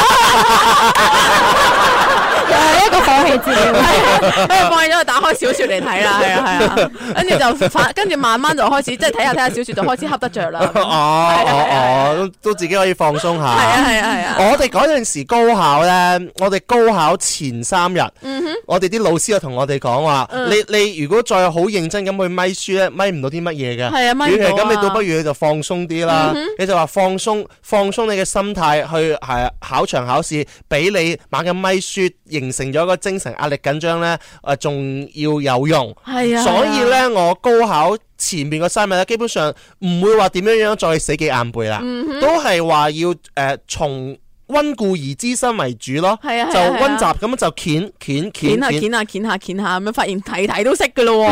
又係一個放棄治療，放棄咗就打開小説嚟睇啦，係啊，跟住慢慢就開始即係睇下小説就開始恰得着啦。 都自己可以放鬆下。 係啊。 我哋嗰陣時高考咧，我哋高考前3日，我哋啲老師就同我哋講話，你如果再好認真咁去咪書咧，咪唔到啲乜嘢嘅。 係啊，咪唔到啊。 咁你倒不如你就放鬆啲啦。你就話放鬆你嘅心態去考場考試，俾你猛咁咪書，形成咗個精神壓力緊張咧，仲要有用。係啊。所以咧，我高考前面個3日咧，基本上唔會話點樣再死記硬背啦，都係話要從溫故而知新為主咯。係啊，就溫習咁就鉗下咁樣，發現題都識噶咯。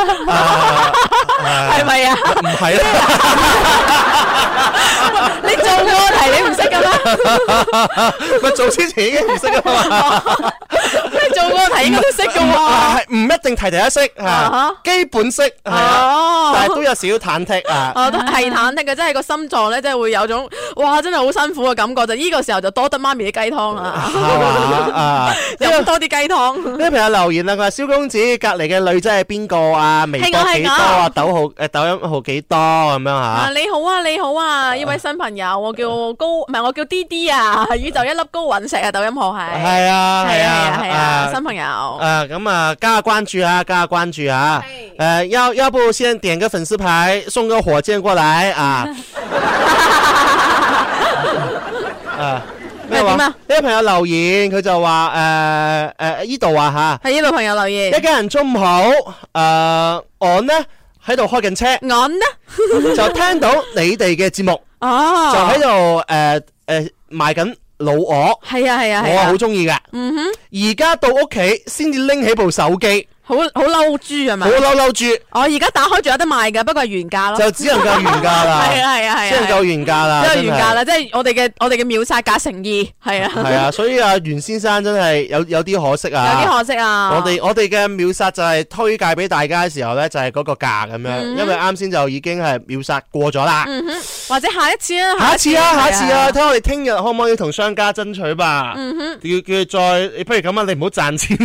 係咪啊？唔係啦，你做過題你唔識噶咩？咪做之前已經唔識噶嘛？你做過題應該都識噶喎。唔一定題都識基本識係啊，但係都有少少忐忑啊。都係忐忑嘅，即係個心臟咧，即係會有種哇，真係好辛苦嘅感覺。就呢個時候就多得媽咪啲雞湯啦，飲多啲雞湯。呢個朋友留言啦，佢話蕭公子隔籬嘅女仔係邊個啊？微博幾多啊？抖音號幾多咁樣吓？你好啊！呢位新朋友，我叫D D 啊，宇宙一粒高隕石啊！抖音號係啊，新朋友。咁啊，加下關注啊！要不先點個粉絲牌，送個火箭過來啊！咩話？呢個朋友留言，佢就話呢度啊吓，係呢度朋友留言。一家人中午好，我呢喺度開緊車，我呢就聽到你哋嘅節目，就喺度賣緊老鵝，係啊，我好中意噶。而家到屋企先至拎起部手機。好嬲豬係咪？好嬲豬！我而家打開仲有得賣㗎，不過係原價咯。就只能夠原價啦。係啊，只能夠原價啦。即係原價啦，即係我哋嘅秒殺價誠意，係啊。係啊，所以袁先生真係有啲可惜啊。有啲可惜啊。我哋嘅秒殺就係推介俾大家嘅時候咧，就係嗰個價咁樣，因為啱先就已經係秒殺過咗啦。 或者下一次啊， 下一次啊，睇我哋聽日可唔可以同商家爭取吧？叫佢再，不如咁啊，你唔好賺錢，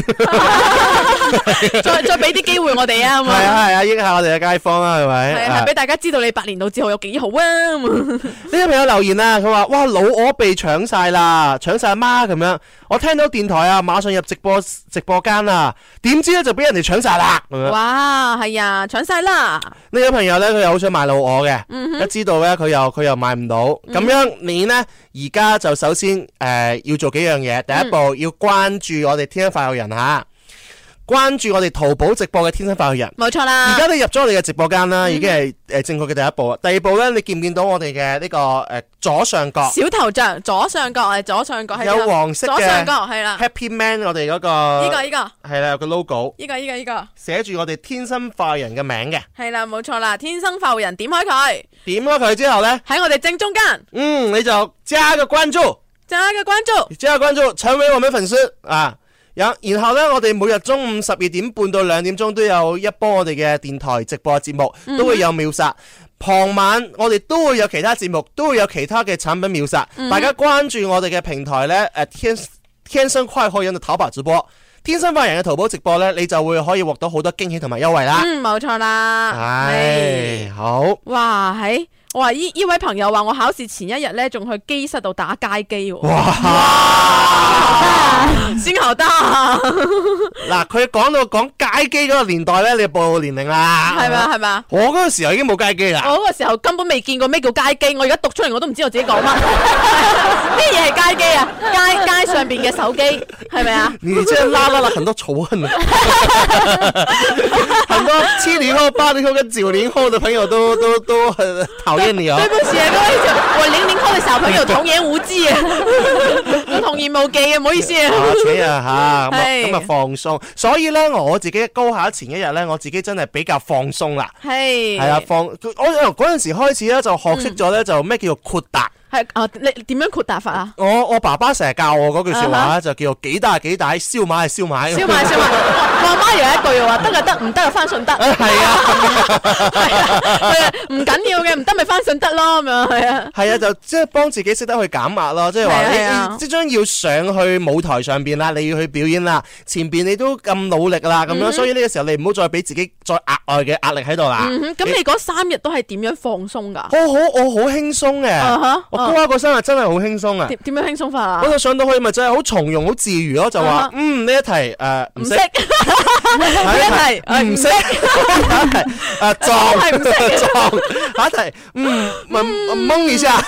再俾啲機會我哋啊， 係啊，益下我哋嘅街坊啦，係咪？ 係俾大家知道你百年老字號有幾好啊！ 呢個朋友留言啊，佢話：哇，老鵝被搶晒啦，搶晒阿媽咁樣。我聽到電台啊，馬上入直播間啊，點知咧就俾人哋搶晒啦！ 哇，係啊，搶晒啦！ 呢個朋友咧，佢又好想買老鵝嘅，一知道咧，佢又買唔到。咁樣你呢，而家就首先要做幾樣嘢，第一步要關注我哋天生快活人吓。關注我哋淘寶直播嘅天生快活人， 冇錯啦。 而家你入咗我哋嘅直播間啦，已經係正確嘅第一步。第二步咧，你見唔見到我哋嘅呢個左上角小頭像？左上角係左上角係有黃色嘅左上角係啦 Happy Man 我哋嗰個呢個係啦，有個 logo 呢個寫住我哋天生快活人嘅名嘅， 係啦，冇錯啦。天生快活人點開佢， 點開佢之後咧， 喺我哋正中間， 你就加個關注，成為我們粉絲啊！然後咧，我哋每日中午12點半到2點鐘都有一波我哋嘅電台直播節目，都會有秒殺。傍晚我哋都會有其他節目，都會有其他嘅產品秒殺。大家關注我哋嘅平台咧，天生快活人嘅淘寶直播，天生快活人嘅淘寶直播咧，你就會可以獲得好多驚喜同埋優惠啦。 冇錯啦。 係好。哇， 係。我話呢位朋友話我考試前一日咧，仲去機室度打街機喎。 哇！ 先頭得。 嗱，佢講街機嗰個年代咧，你就暴露年齡啦。 係咪？ 我嗰個時候已經冇街機啦。 我嗰個時候根本未見過咩叫街機，我而家讀出嚟我都唔知我自己講乜。咩嘢係街機啊？街上邊嘅手機係咪啊？ 你真係拉了很多仇恨啊！很多70後、80後跟90後的朋友都很討厭你啊！ 對不起啊，各位我00後的小朋友童言無忌啊，我童言無忌啊，唔好意思啊。咁啊放鬆，所以咧我自己高考前一日咧，我自己真係比較放鬆啦。係啊，我由嗰陣時開始咧就學識咗咧就咩叫做豁達。係你點樣豁達法啊？ 我爸爸成日教我嗰句說話就叫做幾大幾大，燒賣係燒賣。 燒賣。我阿媽有一句話，得就得，唔得就翻順德。係啊，唔緊要嘅，唔得咪翻順德咯，咁樣係啊。係啊， 就即係幫自己識得去減壓咯，即係話你即將要上去舞台上邊啦，你要去表演啦，前邊你都咁努力啦，咁樣，所以呢個時候你唔好再俾自己再額外嘅壓力喺度啦。 咁你嗰3日都係點樣放鬆噶？ 我好輕鬆嘅。高考嗰3日真係好輕鬆啊！ 點樣輕鬆法啊？ 我就上到去咪真係好從容、好自如咯，就話呢一題唔識，呢一題唔識，下一題撞，下一題蒙一下，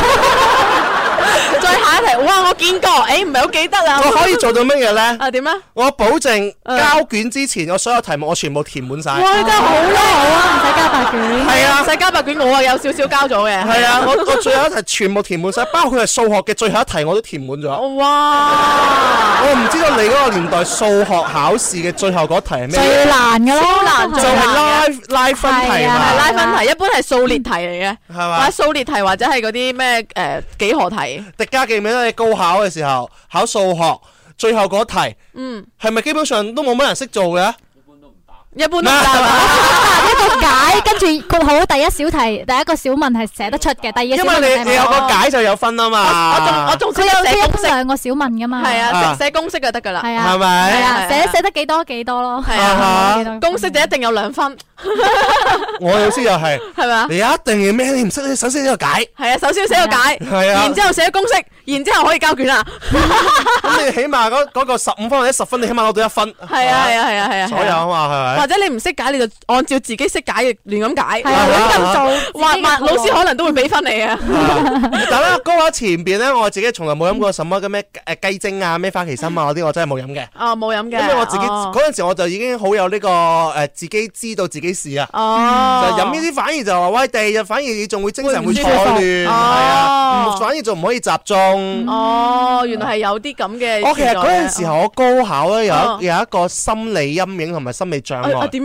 再下一題，哇！我見過，唔係好記得啦。 我可以做到乜嘢咧？ 點啊？ 我保證交卷之前，我所有題目我全部填滿晒。 哇！真係好叻啊！唔使交白卷。 係啊， 唔使交白卷，我有少少交咗嘅。 係啊，我最後一題全部填滿晒，包括係數學嘅最後一題我都填滿咗。 哇！ 我唔知道你嗰個年代數學考試嘅最後嗰題係咩？ 最難嘅咯， 就係拉分題嘛。 拉分題一般係數列題嚟嘅，係嘛？或者數列題或者係嗰啲咩幾何題。 迪嘉記唔記得你高考嘅時候考數學最後嗰題，係咪基本上都冇乜人識做嘅？ 一般都唔得一個解，跟住括號第一小題，第一個小問係寫得出嘅，第二個小問因為你有個解就有分啊嘛。 我仲寫兩個小問噶嘛。 係啊，寫公式就得噶啦。 係啊， 係咪？ 係啊，寫得幾多咯。 係啊，公式就一定有2分。 我老師又係， 係嘛？ 你一定要咩？你唔識，你首先寫個解。 係啊，首先寫個解， 係啊， 然之後寫公式，然之後可以交卷啦。 咁你起碼嗰個15分或者10分，你起碼攞到1分。 係啊， 所有啊嘛，係咪？ 或者你唔識解，你就按照自己識解嘅亂咁解。 係啊，亂咁做， 老師可能都會俾分你啊。 但係咧，高考前邊咧，我自己從來冇飲過什麼嘅咩雞精啊、咩花旗參啊嗰啲，我真係冇飲嘅。 冇飲嘅。 因為我自己嗰陣時我就已經好有呢個自己知道自己事啊。就飲呢啲反而就話喂，第2日反而你仲會精神會錯亂，係啊，反而就唔可以集中。 原來係有啲咁嘅。 其實嗰陣時候我高考咧有一個心理陰影同埋心理障礙。 點樣啊？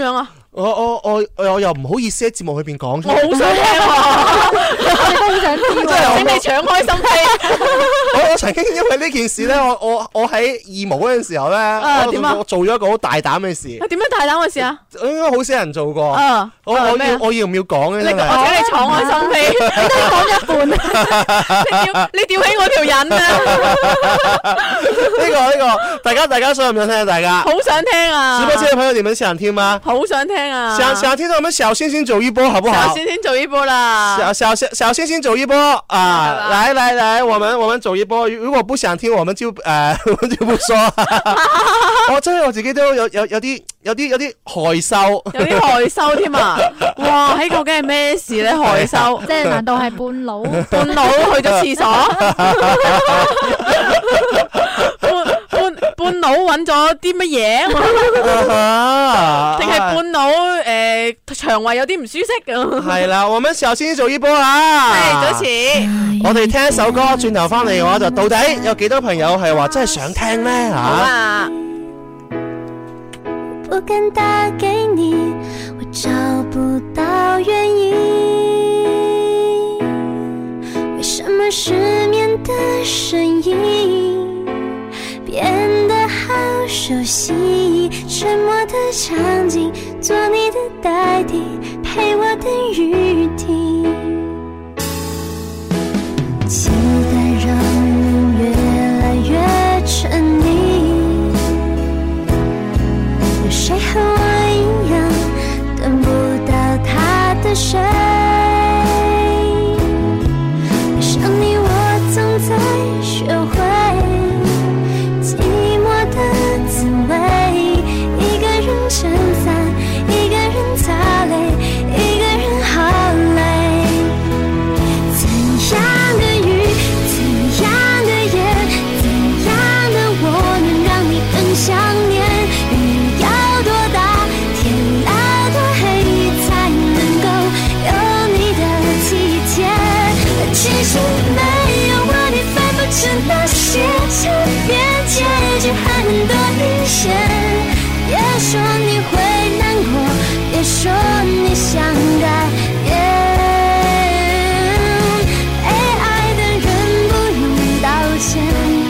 我又唔好意思喺節目裏邊講出嚟。 我好想聽喎， 我哋都好想知喎， 請你敞開心扉。 我曾經因為呢件事咧，我喺義務嗰陣時候咧，我做咗一個好大膽嘅事。 點樣大膽嘅事啊？ 應該好少人做過。我要唔要講咧？ 我請你敞開心扉，你都講一半。你吊起我條癮啊！ 呢個，大家想唔想聽？大家好想聽啊！ 直播間嘅朋友，你們想聽嗎？ 好想聽啊！ 想聽到我們小星星走一波，好不好？ 小星星走一波啦！ 小星星走一波啊！來，我們走一波。如果不想聽，我們就不說。真係我自己都有啲害羞， 有啲害羞添啊！哇，喺究竟係咩事咧？害羞， 即係難道係半佬去咗廁所？半佬揾咗啲乜嘢？定係半佬腸胃有啲唔舒適？ 係啦，我們小星星走一波啊！ 係，早遲。 我哋聽一首歌，轉頭翻嚟嘅話就到底有幾多朋友係話真係想聽呢？吓？ 好啊！ 不敢打給你，我找不到原因，為什麼失眠的聲音變得好熟悉，沉默的場景，做你的代替，陪我等雨停，期待讓人越來越沉溺，有誰和我一樣等不到他的誰，愛上你我總在學會寂寞的滋味，一個人撐傘，一個人擦淚，一個人好累，怎樣的雨，怎樣的夜，怎樣的我能讓你更想念，雨要多大，天要多黑，才能夠有你的體貼，其實沒有我你分不清那些差別，結局還很多陰險，別說你會難過，別說你想改變，被愛的人不用道歉。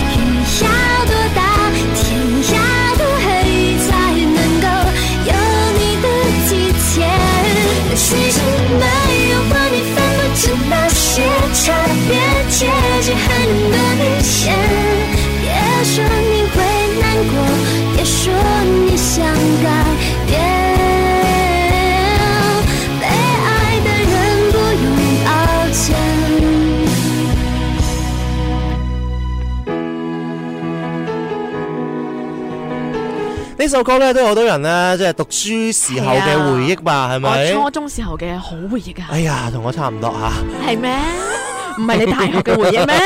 有呢首歌咧都有好多人咧，即係讀書時候嘅回憶吧，係咪？ 我初中時候嘅好回憶啊！ 哎呀，同我差唔多吓。 係咩？唔係你大學嘅回憶咩？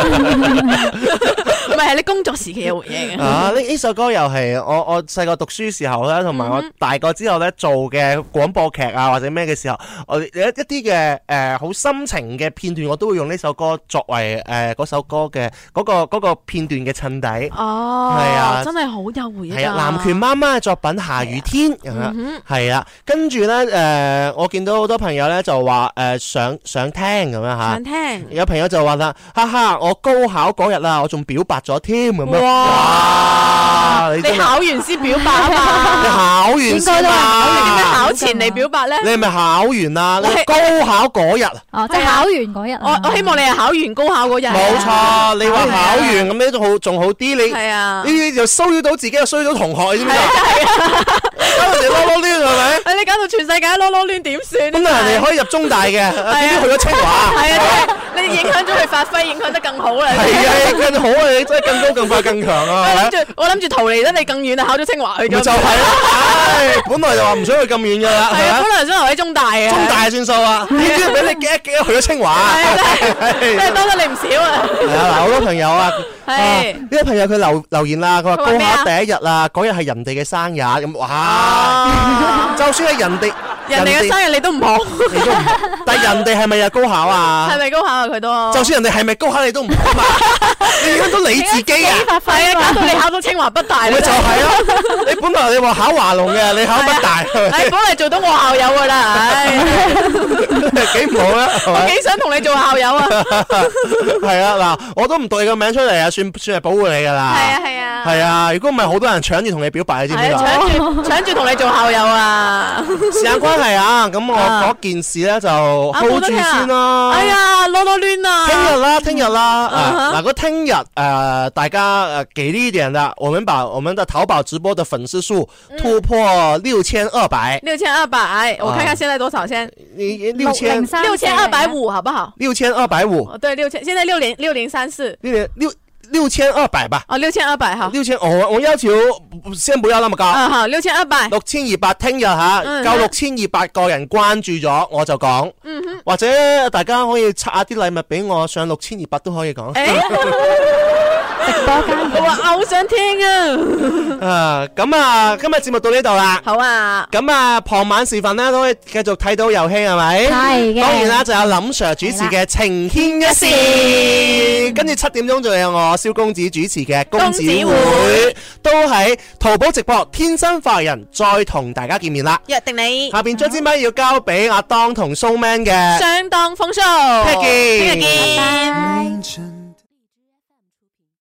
唔係你工作時期嘅回憶啊！呢首歌又係我細個讀書時候咧，同埋我大個之後咧做嘅廣播劇啊或者咩嘅時候，我有一啲嘅好心情嘅片段，我都會用呢首歌作為嗰首歌嘅嗰個片段嘅襯底。 哦，係啊，真係好有回憶。 係啊，南拳媽媽嘅作品《下雨天》咁樣，係啊。跟住咧我見到好多朋友咧就話想聽咁樣嚇。想聽。有朋友就話啦，哈哈！我高考嗰日啊，我仲表白咗添咁樣。哇！ 你考完先表白啊嘛？ 你考完先嘛？ 你點解考前嚟表白咧？ 你係咪考完啊？你高考嗰日。 哦，即係考完嗰日。 我希望你係考完高考嗰日。冇錯，你話考完咁呢仲好啲，你係啊？ 呢就騷擾到自己，又騷擾到同學，你知唔知啊？搞到人哋囉囉攣係咪？ 你搞到全世界囉囉攣點算？ 咁人哋可以入中大嘅，點知去咗清華？ 係啊，你影響咗佢發揮，影響得更好啦。 係啊，更好啊！你真係更高、更快、更強啊！ 我諗住逃離得你更遠啊，考咗清華去咗。 就係啦，本來就話唔想去咁遠㗎啦。 係啊，本來想留喺中大嘅。 中大算數啊！點知俾你激去咗清華？ 真係多得你唔少啊！ 係啊，嗱，好多朋友啊，呢啲朋友佢留言啦，佢話高考第一日啊，嗰日係人哋嘅生日咁，哇！就算係人哋嘅生日你都唔好， 但係人哋係咪又高考啊？ 係咪高考啊？佢都就算人哋係咪高考你都唔好嘛？你影響到你自己啊！ 係啊，搞到你考到清華北大。 咪就係咯，你本來你話考華農嘅，你考北大。 你本嚟做到我校友噶啦，唉， 幾唔好啦！ 我幾想同你做校友啊！ 係啊，嗱，我都唔讀你個名出嚟啊，算係保護你噶啦。 係啊，係啊。 係啊，如果唔係好多人搶住同你表白，你知唔知啊？ 搶住同你做校友啊！ 時間關係啊，咁我嗰件事咧就 hold 住先啦。 哎呀，囉囉攣啊！ 聽日啦，嗱，如果聽日大家給力一點的，我們把我們的淘寶直播的粉絲數突破6200。 6200，我看看現在多少先？6250，好不好 ？6250。 對，6000，現在6034。 6200吧。 哦，6200好。 我要求先不要那麼高。 好，6200。 6200，聽日吓夠6200個人關注咗，我就講。或者大家可以拆下啲禮物俾我，上6200都可以講。 直播間，我話好想聽啊！ 咁啊，今日節目到呢度啦。 好啊。 咁啊，傍晚時分咧都可以繼續睇到遊戲係咪？ 係嘅。 當然啦，就有林 Sir 主持嘅情牽一線，跟住7點鐘仲有我蕭公子主持嘅公子會，都喺淘寶直播天生快活人再同大家見面啦。 約定你。 下邊將支咪要交俾阿當同 Showman 嘅相當風騷。 聽日見。 拜拜。